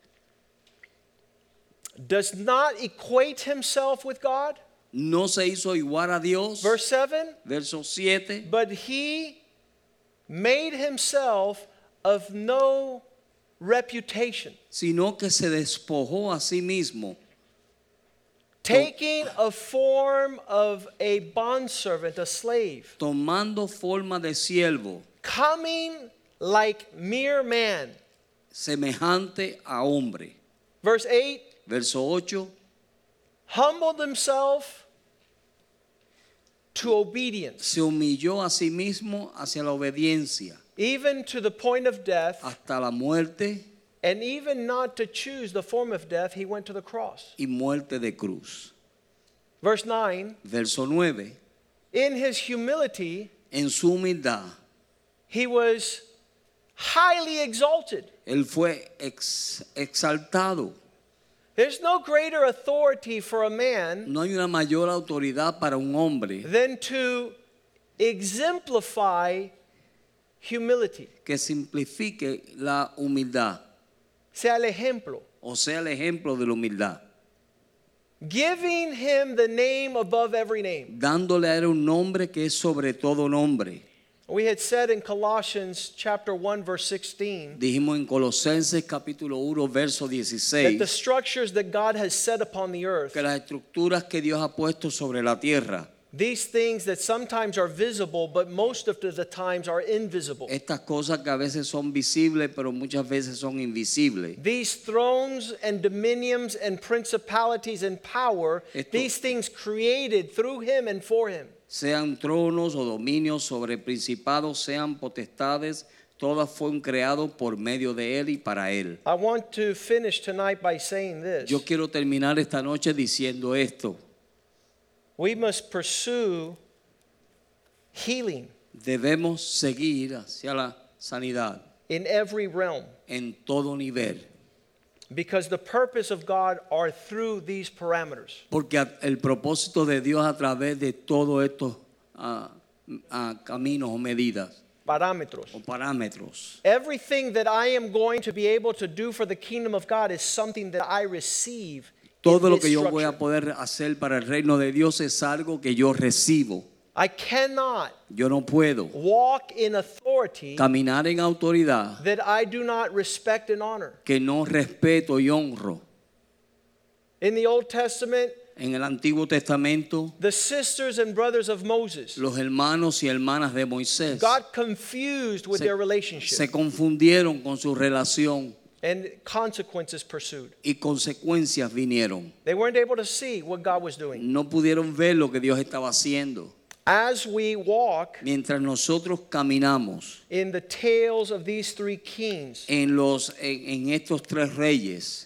does not equate himself with God. no se hizo igual a Dios. Verse seven, Verso siete. but he made himself of no reputation, Sino que se despojó a sí mismo, taking a form of a bondservant, a slave, tomando forma de siervo, coming like mere man. semejante a hombre. Verse eight, Verso ocho. humbled himself to obedience, se humilló a sí mismo hacia la obediencia, even to the point of death, hasta la muerte and even not to choose the form of death, he went to the cross. y muerte de cruz. Verse nine, Verso nueve. in his humility, En su humildad, he was highly exalted. él fue ex- exaltado. There's no greater authority for a man No hay una mayor autoridad para un hombre than to exemplify humility. que simplifique la humildad, Sea el ejemplo. o sea, el ejemplo de la humildad, Giving him the name above every name. dándole a él un nombre que es sobre todo nombre. We had said in Colossians chapter one verse sixteen Dijimos en Colosenses capítulo uno verso that the dieciséis structures that God has set upon the earth, que las estructuras que Dios ha puesto sobre la tierra, these things that sometimes are visible but most of the times are invisible. estas cosas que a veces son visibles pero muchas veces son invisibles, These thrones and dominions and principalities and power, Esto- these things created through him and for him. sean tronos o dominios sobre principados, sean potestades, todas fueron creados por medio de él y para él. I want to finish tonight by saying this. Yo quiero terminar esta noche diciendo esto. We must pursue healing Debemos seguir hacia la sanidad in every realm en todo nivel, because the purpose of God are through these parameters. porque a- el propósito de Dios a través de todos estos ah, ah, caminos o medidas Parámetros. o parámetros, Everything that I am going to be able to do for the kingdom of God is something that I receive. todo in lo this que yo voy a structure. poder hacer para el reino de Dios es algo que yo recibo. I cannot Yo no puedo walk in authority caminar en autoridad that I do not respect and honor. que no respeto y honro. In the Old Testament, En el Antiguo Testamento, the sisters and brothers of Moses los hermanos y hermanas de Moisés got confused with se, their relationship, se confundieron con su relación and consequences pursued. y consecuencias vinieron. They weren't able to see what God was doing. No pudieron ver lo que Dios estaba haciendo. As we walk Mientras nosotros caminamos in the tales of these three kings, en, los, en, en estos tres reyes,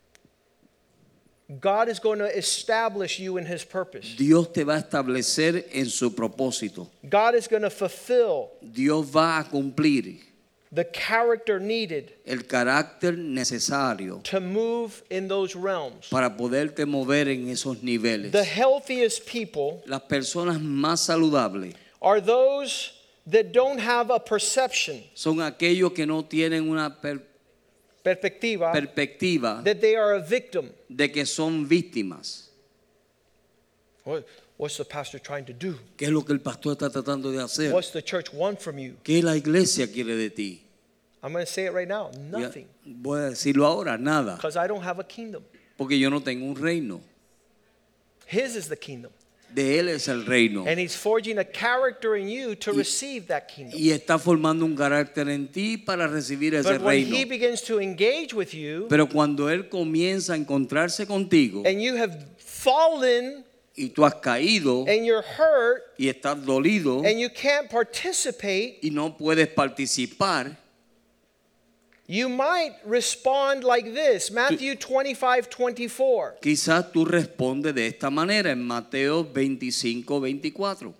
God is going to establish you in his purpose. Dios te va a establecer en su propósito. God is going to fulfill Dios va a cumplir the character needed el carácter necesario to move in those realms. para poderte mover en esos niveles. The healthiest people Las personas más saludables are those that don't have a perception, son aquellos que no tienen una per- perspectiva, perspectiva that they are a victim. de que son víctimas. What- What's the pastor trying to do? ¿Qué es lo que el pastor está tratando de hacer? What's the church want from you? ¿Qué la iglesia quiere de ti? I'm going to say it right now. Ya, Nothing. voy a decirlo ahora, nada, Because I don't have a kingdom. porque yo no tengo un reino. His is the kingdom. De él es el reino. And he's forging a character in you to receive that kingdom. Y está formando un carácter en ti para recibir ese But when he reino. begins to engage with you Pero cuando él comienza a encontrarse contigo and you have fallen y tú has caído and you're hurt y estás dolido and you can't participate, y no puedes participar, you might respond like this. Matthew twenty-five twenty-four. quizás tú respondes de esta manera en Mateo veinticinco veinticuatro.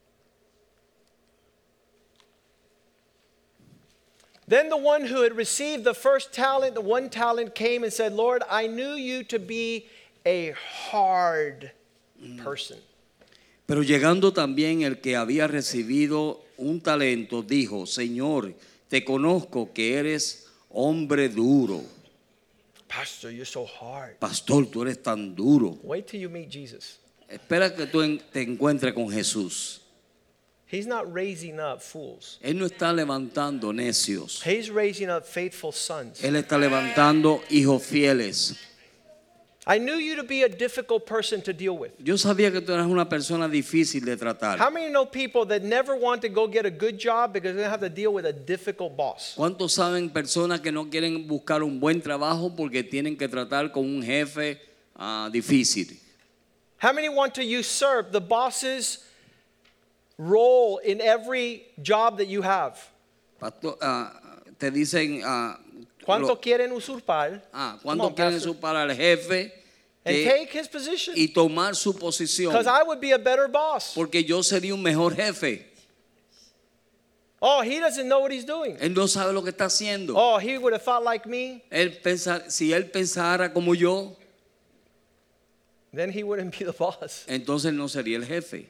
Then the one who had received the first talent, the one talent, came and said, Lord, I knew you to be a hard person. Pero llegando también el que había recibido un talento, dijo, Señor, te conozco que eres hombre duro. Pastor, you're so hard. Pastor, tú eres tan duro. Wait till you meet Jesus. Espera que tú en- te encuentres con Jesús. He's not raising up fools. Él no está levantando necios. He's raising up faithful sons. Él está levantando hijos fieles. I knew you to be a difficult person to deal with. Yo sabía que tú eras una persona difícil de tratar. How many know people that never want to go get a good job because they have to deal with a difficult boss? ¿Cuántos saben personas que no quieren buscar un buen trabajo porque tienen que tratar con un jefe ah, difícil? How many want to usurp the boss's role in every job that you have. Pastor, ah, te dicen, ah, ¿Cuánto lo- quieren usurpar? ah, Come ¿cuánto on, quieren Pastor. usurpar al jefe And que- take his position. y tomar su posición? Because I would be a better boss. Porque yo sería un mejor jefe. Oh, he doesn't know what he's doing. Él no sabe lo que está haciendo. Oh, he would have thought like me. Él pensa- si él pensara como yo, Then he wouldn't be the boss. entonces no sería el jefe.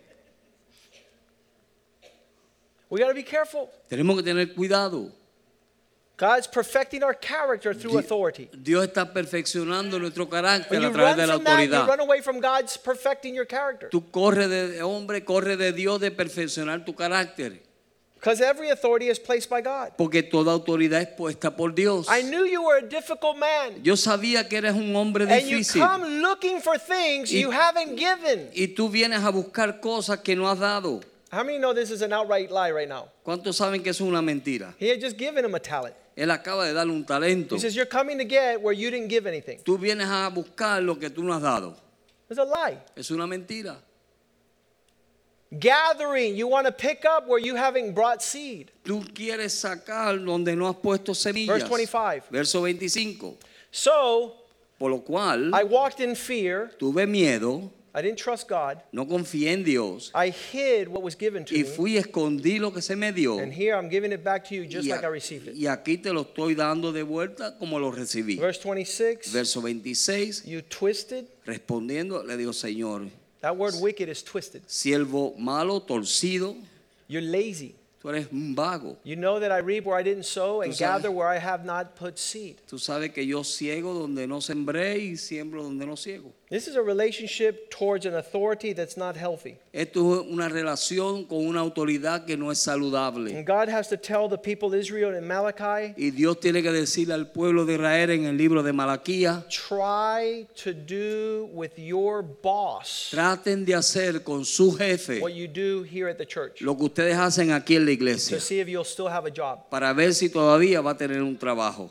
We got to be careful. Tenemos que tener cuidado. God's perfecting our character through Di- authority. Dios está perfeccionando nuestro carácter When you a través run de la from that, you autoridad. run away from God's perfecting your character. Tú corres de hombre, corre de Dios de perfeccionar tu carácter. Because every authority is placed by God. Porque toda autoridad es puesta por Dios. I knew you were a difficult man. Yo sabía que eres un hombre And you difícil. come looking for things Y- you haven't given. Y tú vienes a buscar cosas que no has dado. How many know this is an outright lie right now? ¿Cuántos saben que eso es una mentira? He had just given him a talent. Él acaba de darle un talento. He says, you're coming to get where you didn't give anything. Tú vienes a buscar lo que tú no has dado. It's a lie. Es una mentira. Gathering, you want to pick up where you haven't brought seed. Tú quieres sacar donde no has puesto semillas. Verse twenty-five. Verso veinticinco. So Por lo cual I walked in fear. tuve miedo, I didn't trust God. no confié en Dios I hid what was given to y me. fui y escondí lo que se me dio. And here I'm giving it back to you just Y, like I a- received it. y aquí te lo estoy dando de vuelta como lo recibí. Verse twenty-six. Verso veintiséis, You twisted. respondiendo le digo, Señor, That word wicked is twisted. siervo malo, torcido, You're lazy. tú eres un vago. You know that I reap where I didn't sow and Tú sabes- gather where I have not put seed. Tú sabes que yo ciego donde no sembré y siembro donde no ciego. This is a relationship towards an authority that's not healthy. Esto es una relación con una autoridad que no es saludable. And God has to tell the people of Israel in Malachi, Y Dios tiene que decirle al pueblo de Israel en el libro de Malaquías, try to do with your boss traten de hacer con su jefe what you do here at the church lo que ustedes hacen aquí en la iglesia, to see if you'll still have a job. para ver si todavía va a tener un trabajo.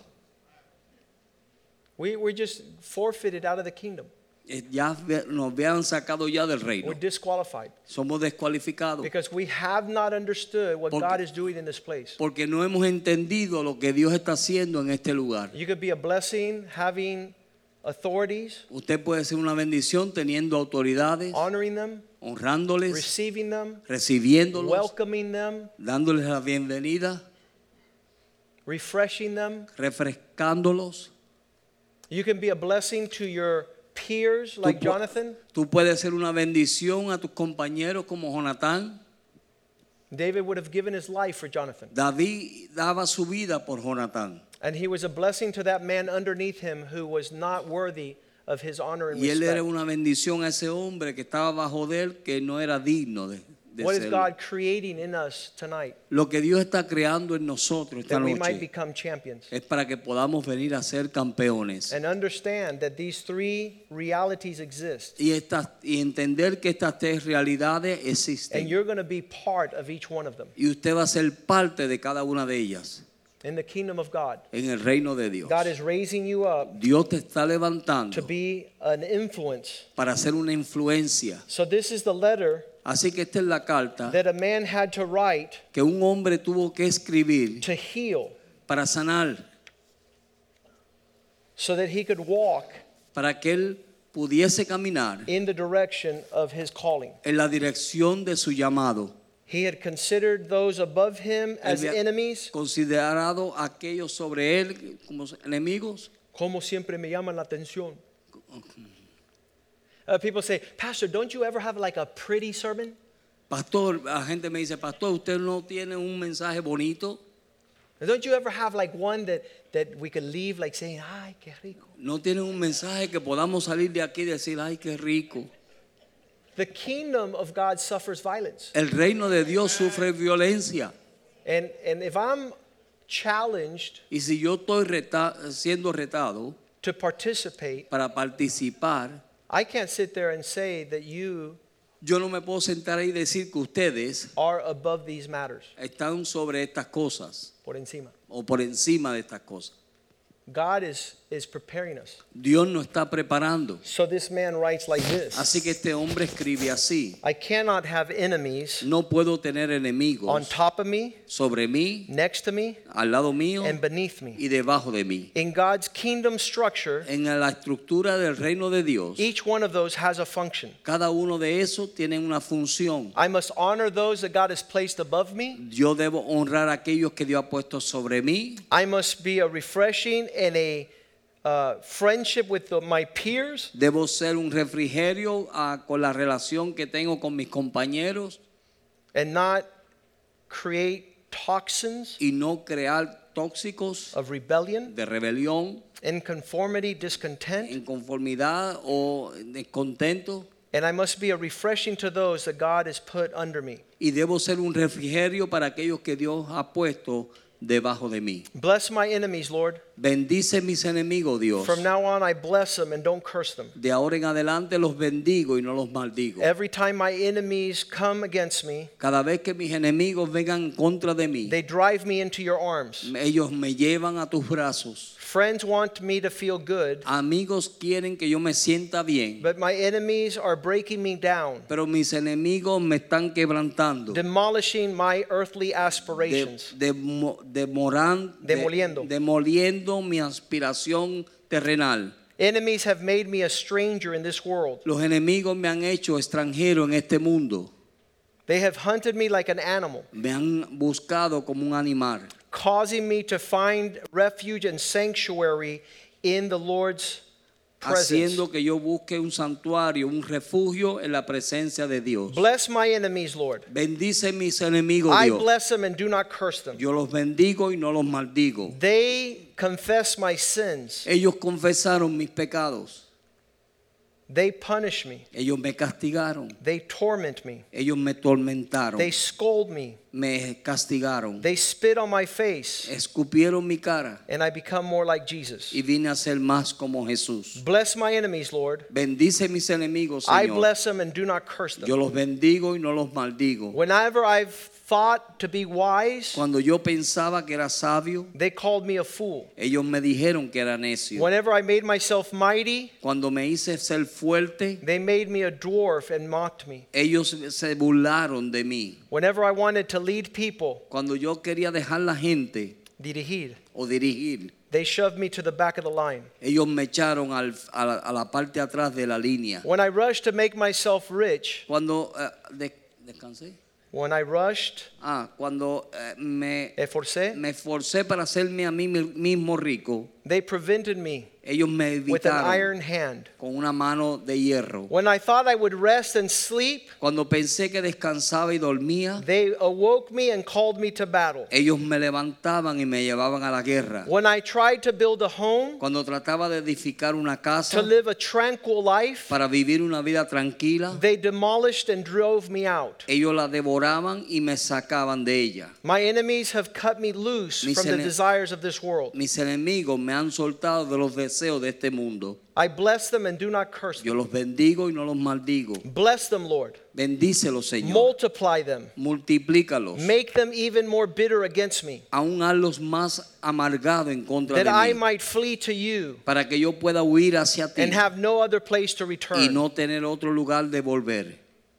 We, we're just forfeited out of the kingdom. Eh, Ya ve- nos habían sacado ya del reino. We're disqualified Somos descualificados because we have not understood what Porque- God is doing in this place. porque no hemos entendido lo que Dios está haciendo en este lugar. You could be a blessing having authorities, Usted puede ser una bendición teniendo autoridades, honoring them, honrándoles, receiving them, recibiéndolos, welcoming them, dándoles la bienvenida, refreshing them. refrescándolos. You can be a blessing to your peers like Tú pu- Jonathan. Tú puedes ser una bendición a tus compañeros como Jonatán. David would have given his life for Jonathan. David daba su vida por Jonatán. And he was a blessing to that man underneath him who was not worthy of his honor and Y él era respect. una bendición a ese hombre que estaba bajo de él, que no era digno de, de What is serlo. God creating in us tonight Lo que Dios está creando en nosotros esta that we might noche become champions? es para que podamos venir a ser campeones. And understand that these three realities exist. Y, estas, y entender que estas tres realidades And existen. you're going to be part of each one of them Y usted va a ser parte de cada una de ellas in the kingdom of God. en el reino de Dios. God is raising you up Dios te está to levantando be an influence. para ser una influencia. So this is the letter Así que esta es la carta that a man had to write que un hombre tuvo que escribir to heal para sanar, so that he could walk para que él pudiese caminar in the direction of his calling. en la dirección de su llamado. He had considered those above him as Él había enemies. considerado a aquellos sobre él como enemigos. Como siempre me llaman la atención. Uh, people say, Pastor, don't you ever have like a pretty sermon? Pastor, la gente me dice, pastor, ¿usted no tiene un mensaje bonito? Don't you ever have like one that, that we could leave like saying, ay, qué rico? ¿No tiene un mensaje que podamos salir de aquí y decir, ay, qué rico? The kingdom of God suffers violence. El reino de Dios sufre violencia. And, and if I'm challenged Y si yo estoy reta- siendo retado to participate, para participar, I can't sit there and say that you yo no me puedo sentar ahí y decir que ustedes are above these matters. están sobre estas cosas Por encima. o por encima de estas cosas. God is, is preparing us. Dios nos está preparando. So this man writes like this. Así que este hombre escribe así. I cannot have enemies No puedo tener on enemigos top of me, sobre mí, next to me, al lado mío and beneath me. y debajo de mí. In God's kingdom structure, En la estructura del reino de Dios, each one of those has a function. cada uno de esos tiene una función. I must honor those that God has placed above me. Yo debo honrar a aquellos que Dios ha puesto sobre mí. I must be a refreshing and a uh, friendship with the, my peers. Debo ser un refrigerio uh, con la relación que tengo con mis compañeros And not create toxins y no crear tóxicos of rebellion, de rebelión, inconformity, discontent. inconformidad o descontento. And I must be a refreshing to those that God has put under me. Y debo ser un refrigerio para aquellos que Dios ha puesto debajo de mí. Bless my enemies, Lord. Bendice mis enemigos, Dios. From now on, I bless them and don't curse them. De ahora en adelante los bendigo y no los maldigo. Every time my enemies come against me, Cada vez que mis enemigos vengan en contra de mí, they drive me into your arms. ellos me llevan a tus brazos. Friends want me to feel good, Amigos quieren que yo me sienta bien, but my enemies are breaking me down, pero mis enemigos me están quebrantando, demolishing my earthly de, aspirations. demo- demoran- de- Demoliendo. demoliendo mi aspiración terrenal. Enemies have made me a stranger in this world. Los enemigos me han hecho extranjero en este mundo. They have hunted me like an animal, Me han buscado como un animal, causing me to find refuge and sanctuary in the Lord's presence. haciendo que yo busque un santuario, un refugio en la presencia de Dios. Bless my enemies, Lord. Bendice mis enemigos, I Dios. bless them and do not curse them. Yo los bendigo y no los maldigo. They confess my sins. Ellos confesaron mis pecados. They punish me. Ellos me castigaron. They torment me. Ellos me tormentaron. They scold me. Me castigaron. They spit on my face. Escupieron mi cara. And I become more like Jesus. Y vine a ser más como Jesús. Bless my enemies, Lord. Bendice mis enemigos, I Señor. bless them and do not curse Yo them. los bendigo y no los maldigo. Whenever I've thought to be wise, Cuando yo pensaba que era sabio, they called me a fool. ellos me dijeron que era necio. Whenever I made myself mighty, Cuando me hice ser fuerte, they made me a dwarf and mocked me. ellos se burlaron de mí. Whenever I wanted to lead people, Cuando yo quería dejar la gente dirigir, o dirigir, they shoved me to the back of the line. ellos me echaron al- a, la, a la parte atrás de la línea. When I rushed to make myself rich, Cuando eh, de- descansé. when I rushed, Ah, cuando eh, me, esforcé, me esforcé para hacerme a mí mismo rico, they prevented me ellos me with an evitaron iron hand. con una mano de hierro. When I thought I would rest and sleep, Cuando pensé que descansaba y dormía, they awoke me and called me to battle. ellos me levantaban y me llevaban a la guerra. When I tried to build a home, Cuando trataba de edificar una casa to live a tranquil life, para vivir una vida tranquila, they demolished and drove me out. ellos la devoraban y me sacaban de ella. My enemies have cut me loose Mis from the ene- desires of this world. Mis enemigos me han soltado de los deseos de este mundo. I bless them and do not curse Yo them. los bendigo y no los maldigo. Bless them, Lord. Bendícelos, Señor. Multiply them. Multiplícalos. Make them even more bitter against me, Aún hazlos más amargados en contra that de I mí, might flee to you para que yo pueda huir hacia ti and have no other place to y return, no tener otro lugar de volver.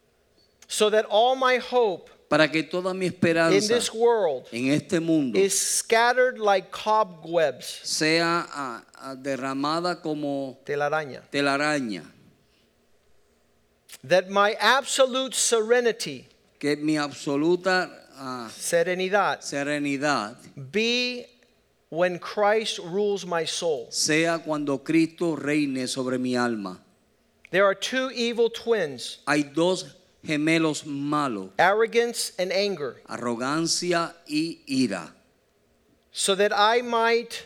so that all my hope Para que toda mi in esperanza this world en este mundo is scattered like cobwebs, sea ah, ah, derramada como telaraña, telaraña. that my absolute serenity, Que mi absoluta ah, serenidad, serenidad be when Christ rules my soul. sea cuando Cristo reine sobre mi alma. There are two evil twins, Hay dos gemelos malos, arrogance and anger, arrogancia y ira, so that I might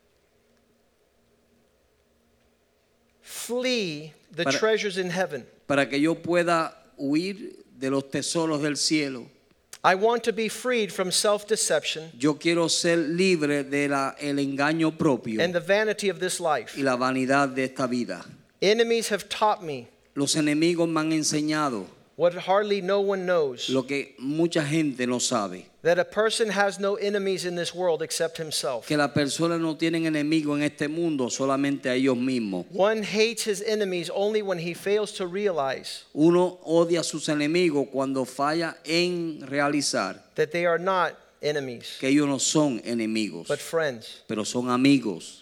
flee the Para- treasures in heaven. para que yo pueda huir de los tesoros del cielo. I want to be freed from self-deception Yo quiero ser libre de la, el engaño propio and the vanity of this life. y la vanidad de esta vida. Enemies have taught me Los enemigos me han enseñado what hardly no one knows, lo que mucha gente no sabe, that a person has no enemies in this world except himself. que las personas no tienen enemigos en este mundo, solamente a ellos mismos. One hates his enemies only when he fails to realize Uno odia a sus enemigos cuando falla en realizar that they are not enemies, que ellos no son enemigos, but friends. pero son amigos.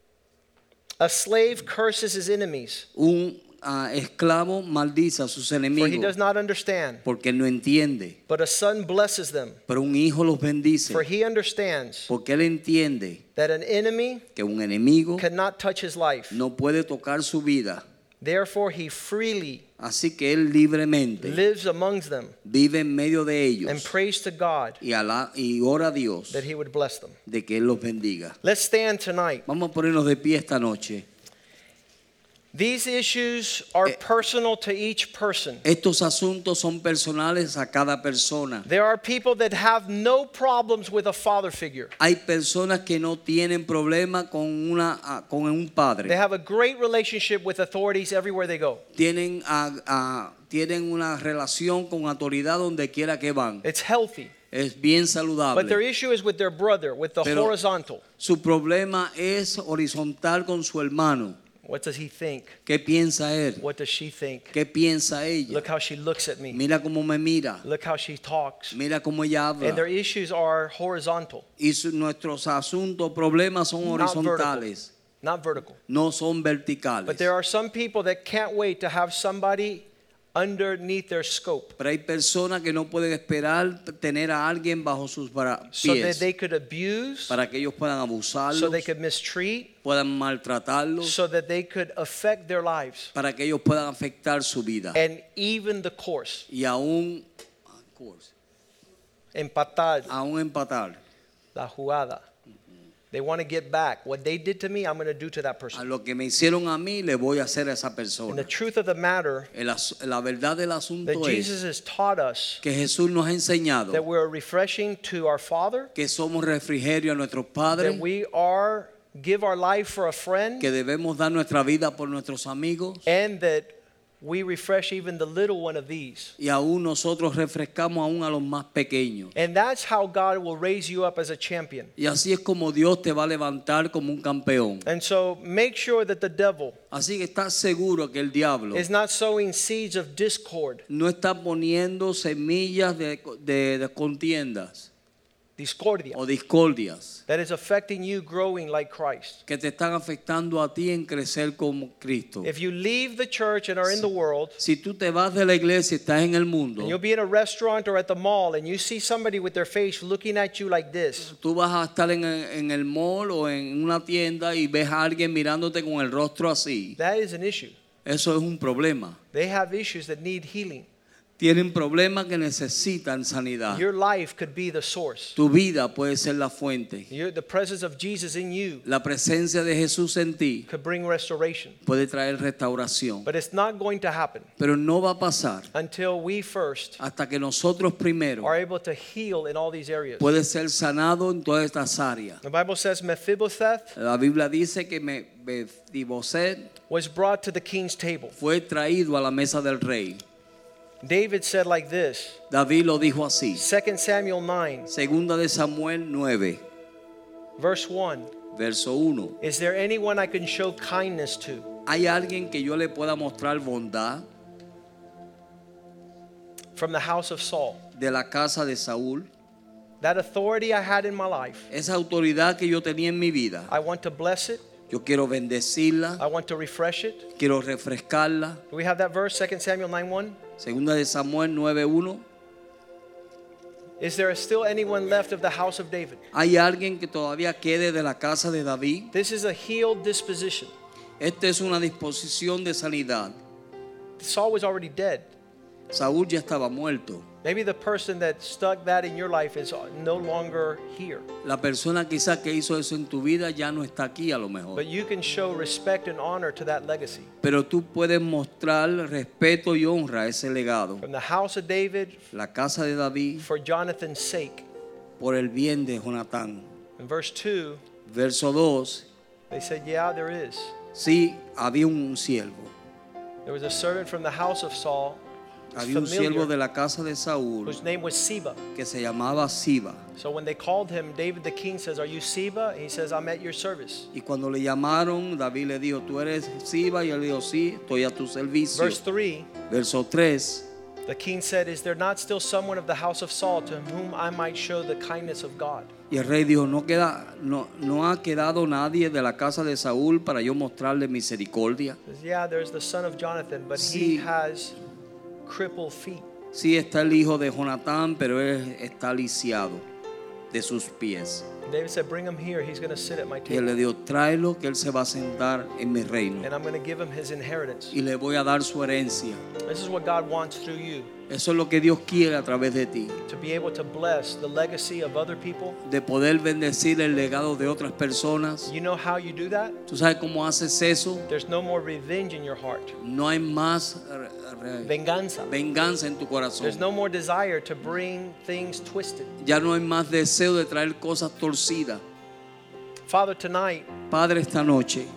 A slave curses his enemies, Un ah, esclavo maldice a sus for he does enemigos not understand. porque no entiende, But a son blesses them, pero un hijo los bendice for he understands porque él entiende that an enemy que un enemigo cannot touch his life. no puede tocar su vida. Therefore, he freely Así que él libremente lives amongst them vive en medio de and ellos prays to God y, ala- y ora a Dios that he would bless them. de que él los bendiga. Let's stand tonight. Vamos a ponernos de pie esta noche. These issues are Eh, personal to each person. Estos asuntos son personales a cada persona. There are people that have no problems with a father figure. Hay personas que no tienen problema con una ah, con un They padre. have a great relationship with authorities everywhere they go. Tienen ah, ah, tienen una relación con autoridad donde quiera que van. It's healthy. Es bien But their saludable. issue is with their brother, with the Pero- horizontal. Su problema es horizontal con su hermano. What does he think? ¿Qué piensa él? What does she think? ¿Qué piensa ella? Look how she looks at me. Mira cómo me mira. Look how she talks. Mira cómo ella And their habla. issues are horizontal, Y su- nuestros asuntos, problemas son not vertical. horizontales, Not vertical. no son But verticales. there are some people that can't wait to have somebody underneath their scope Pero hay personas que no pueden esperar tener a alguien bajo sus bra- so that pies they could abuse, para que ellos puedan abusarlos, so they could mistreat, puedan maltratarlos, so that they could affect their lives para que ellos puedan afectar su vida. and even the course, Y aún, empatar aún empatar. la jugada. They want to get back. What they did to me, I'm going to do to that A person. lo que me hicieron a mí, le voy a hacer a esa And the persona. truth of the matter, El as- La verdad del that asunto Jesus es has taught us que Jesús nos ha that enseñado we're refreshing to our Father, que somos refrigerio a nuestros padres, that we are give our life for a friend, que debemos dar nuestra vida por nuestros amigos, and that we refresh even the little one of these. y aún nosotros refrescamos aún a los más pequeños. And that's how God will raise you up as a champion. Y así es como Dios te va a levantar como un campeón. And so make sure that the devil Así que estás seguro que el diablo is not sowing seeds of discord, no está poniendo semillas de, de- de contiendas discordia, o discordias that is affecting you growing like Christ. que te están afectando a ti en crecer como Cristo. If you leave the church and are in the world, Si tú te vas de la iglesia y estás en el mundo, and you'll be in a restaurant or at the mall and you see somebody with their face looking at you like this, tú vas a estar en el, en el mall o en una tienda y ves a alguien mirándote con el rostro así. that is an issue. Eso es un problema. They have issues that need healing. Tienen problemas que necesitan sanidad. Your life could be the source. Tu vida puede ser la fuente. Your, the presence of Jesus in you La presencia de Jesús en ti could bring restoration. puede traer restauración. But it's not going to happen Pero no va a pasar until we first hasta que nosotros primero are able to heal in all these areas. puede ser sanado en todas estas áreas. The Bible says Mephibosheth La Biblia dice que Me- Mefiboset was brought to the king's table. fue traído a la mesa del rey. David said like this, David lo dijo así. Second Samuel nine, Segunda de Samuel nueve, verse one. verso uno. Is there anyone I can show kindness to? ¿Hay alguien que yo le pueda mostrar bondad From the house of Saul. de la casa de Saúl? That authority I had in my life, Esa autoridad que yo tenía en mi vida, I want to bless it. yo quiero bendecirla, I want to refresh it. quiero refrescarla. Do we have that verse, Second Samuel nine one? Segunda de Samuel nueve uno. Is there still anyone left of the house of David? ¿Hay alguien que todavía quede de la casa de David? This is a healed disposition. Esta es una disposición de sanidad. Saul was already dead. Saúl ya estaba muerto. Maybe the person that stuck that in your life is no longer here. La persona quizás que hizo eso en tu vida ya no está aquí a lo mejor. But you can show respect and honor to that legacy. Pero tú puedes mostrar respeto y honra a ese legado. From the house of David, La casa de David for Jonathan's sake. por el bien de Jonatán. In verse two, Verso dos. they said, yeah, there is. Sí, había un siervo. There was a servant from the house of Saul había un siervo de la casa de Saúl whose name was Siba. que se llamaba Siba. So when they called him, David the king says, "Are you Siba?" And he says, "I'm at your service." Y cuando le llamaron, David le dijo, ¿tú eres Siba? Y él dijo, sí, estoy a tu servicio. Verse three, Verso tres. the king said, "Is there not still someone of the house of Saul to whom I might show the kindness of God?" Y el rey dijo, no, queda, no, no ha quedado nadie de la casa de Saúl para yo mostrarle misericordia. He says, "Yeah, there's the son of Jonathan, but Sí. he has crippled feet." Sí está el hijo de Jonatán, pero él está lisiado de sus pies. And David said, "Bring him here. He's going to sit at my Y él table, le dijo, tráelo que él se va a sentar en mi reino. and I'm going to give him his inheritance." Y le voy a dar su herencia. This is what God wants through you, Eso es lo que Dios quiere a través de ti. to be able to bless the legacy of other people. De poder bendecir el legado de otras personas. You know how you do that? ¿Tú sabes cómo haces eso? There's no more revenge in your heart, No hay más re- re- venganza. venganza en tu corazón. There's no more desire to bring things twisted. Ya no hay más deseo de traer cosas torcidas. Father, tonight, Padre, esta noche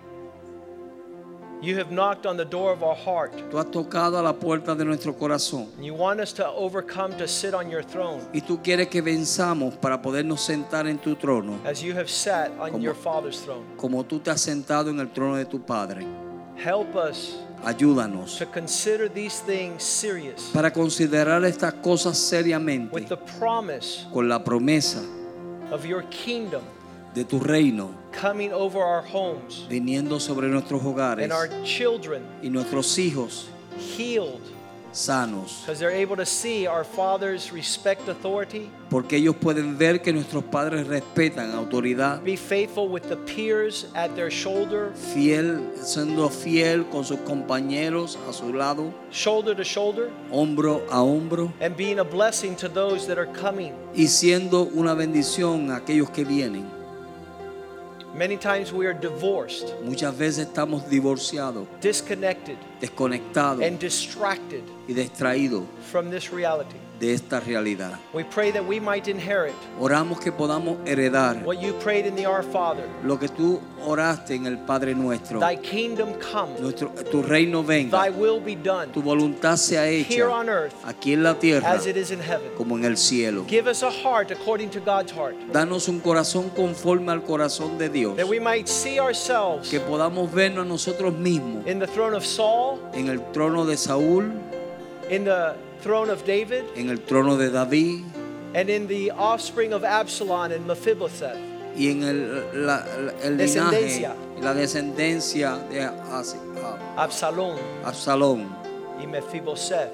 you have knocked on the door of our heart. tú has tocado a la puerta de nuestro corazón And you want us to overcome to sit on your throne y tú quieres que venzamos para podernos sentar en tu trono, as you have sat on Como- your Father's throne. como tú te has sentado en el trono de tu Padre. Help us Ayúdanos to consider these things serious para considerar estas cosas with seriamente the promise con la promesa of your kingdom de tu reino coming over our homes viniendo sobre nuestros hogares and our children y nuestros hijos healed sanos, because they're able to see our Father's respect authority, porque ellos pueden ver que nuestros padres respetan autoridad, be faithful with the peers at their shoulder, fiel, siendo fiel con sus compañeros a su lado, shoulder to shoulder, hombro a hombro, and being a blessing to those that are coming. y siendo una bendición a aquellos que vienen. Many times we are divorced, Muchas veces estamos divorciados, disconnected, desconectados and distracted y distraídos from this reality. de esta realidad. We pray that we might inherit Oramos que podamos heredar what you prayed in the Our Father. lo que tú oraste en el Padre Nuestro. Thy kingdom come, Nuestro, tu reino venga, thy will be done tu voluntad sea here hecha on earth aquí en la tierra as it is in heaven. como en el cielo. Give us a heart according to God's heart, Danos un corazón conforme al corazón de Dios, that we might see ourselves que podamos vernos a nosotros mismos in the throne of Saul, en el trono de Saúl, in the throne of David, en el trono de David and in the offspring of Absalom and Mephibosheth. y en el, la- la- el linaje Descendencia. y la descendencia de As- a- Absalom Absalón y Mephibosheth.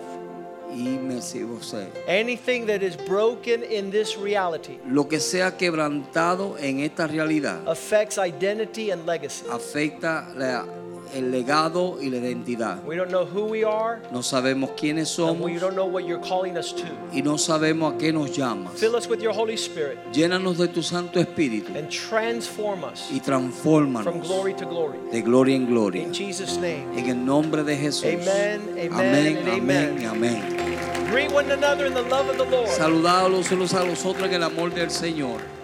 y Mesibosé. Anything that is broken in this reality Lo que sea quebrantado en esta realidad affects identity and legacy. afecta la- el legado y la identidad. We don't know who we are, No sabemos quiénes and somos we don't know what you're calling us to. y no sabemos a qué nos llamas. Fill us with your Holy Spirit Llénanos de tu Santo Espíritu and transform us y from transfórmanos glory to glory. de gloria en gloria. In Jesus' name. En el nombre de Jesús. Amen, amen, Amén, and amén, amen. y amén. Greet one another in the love of the Lord. Saludados los unos a los otros en el amor del Señor.